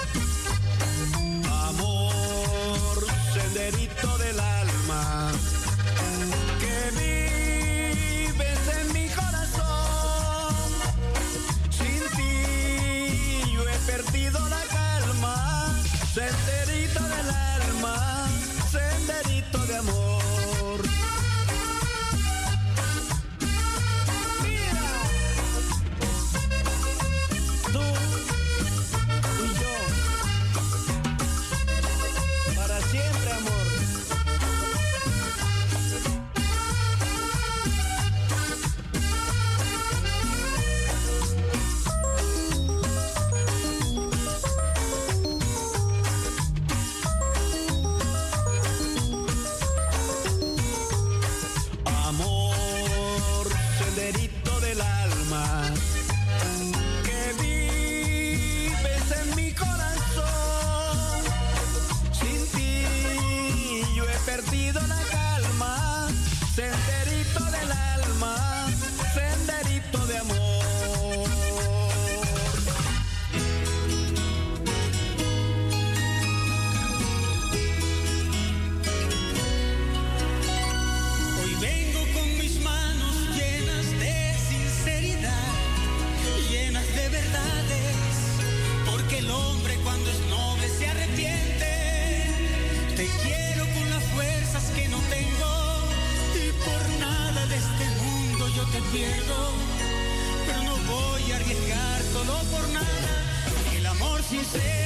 Amor, senderito del alma, que vives en mi corazón. Sin ti yo he perdido la calma. Senderito del alma, senderito de amor. Mira, tú y yo, para siempre, amor. Amor, senderito del alma, que vives en mi corazón. Sin ti yo he perdido la calma. Senderito del alma, senderito de amor. Hoy vengo con mis manos llenas de sinceridad, llenas de verdades, porque el hombre cuando es noble se arrepiente. Te quiero con las fuerzas que no tengo y por nada de este mundo yo te pierdo, pero no voy a arriesgar solo por nada el amor sincero.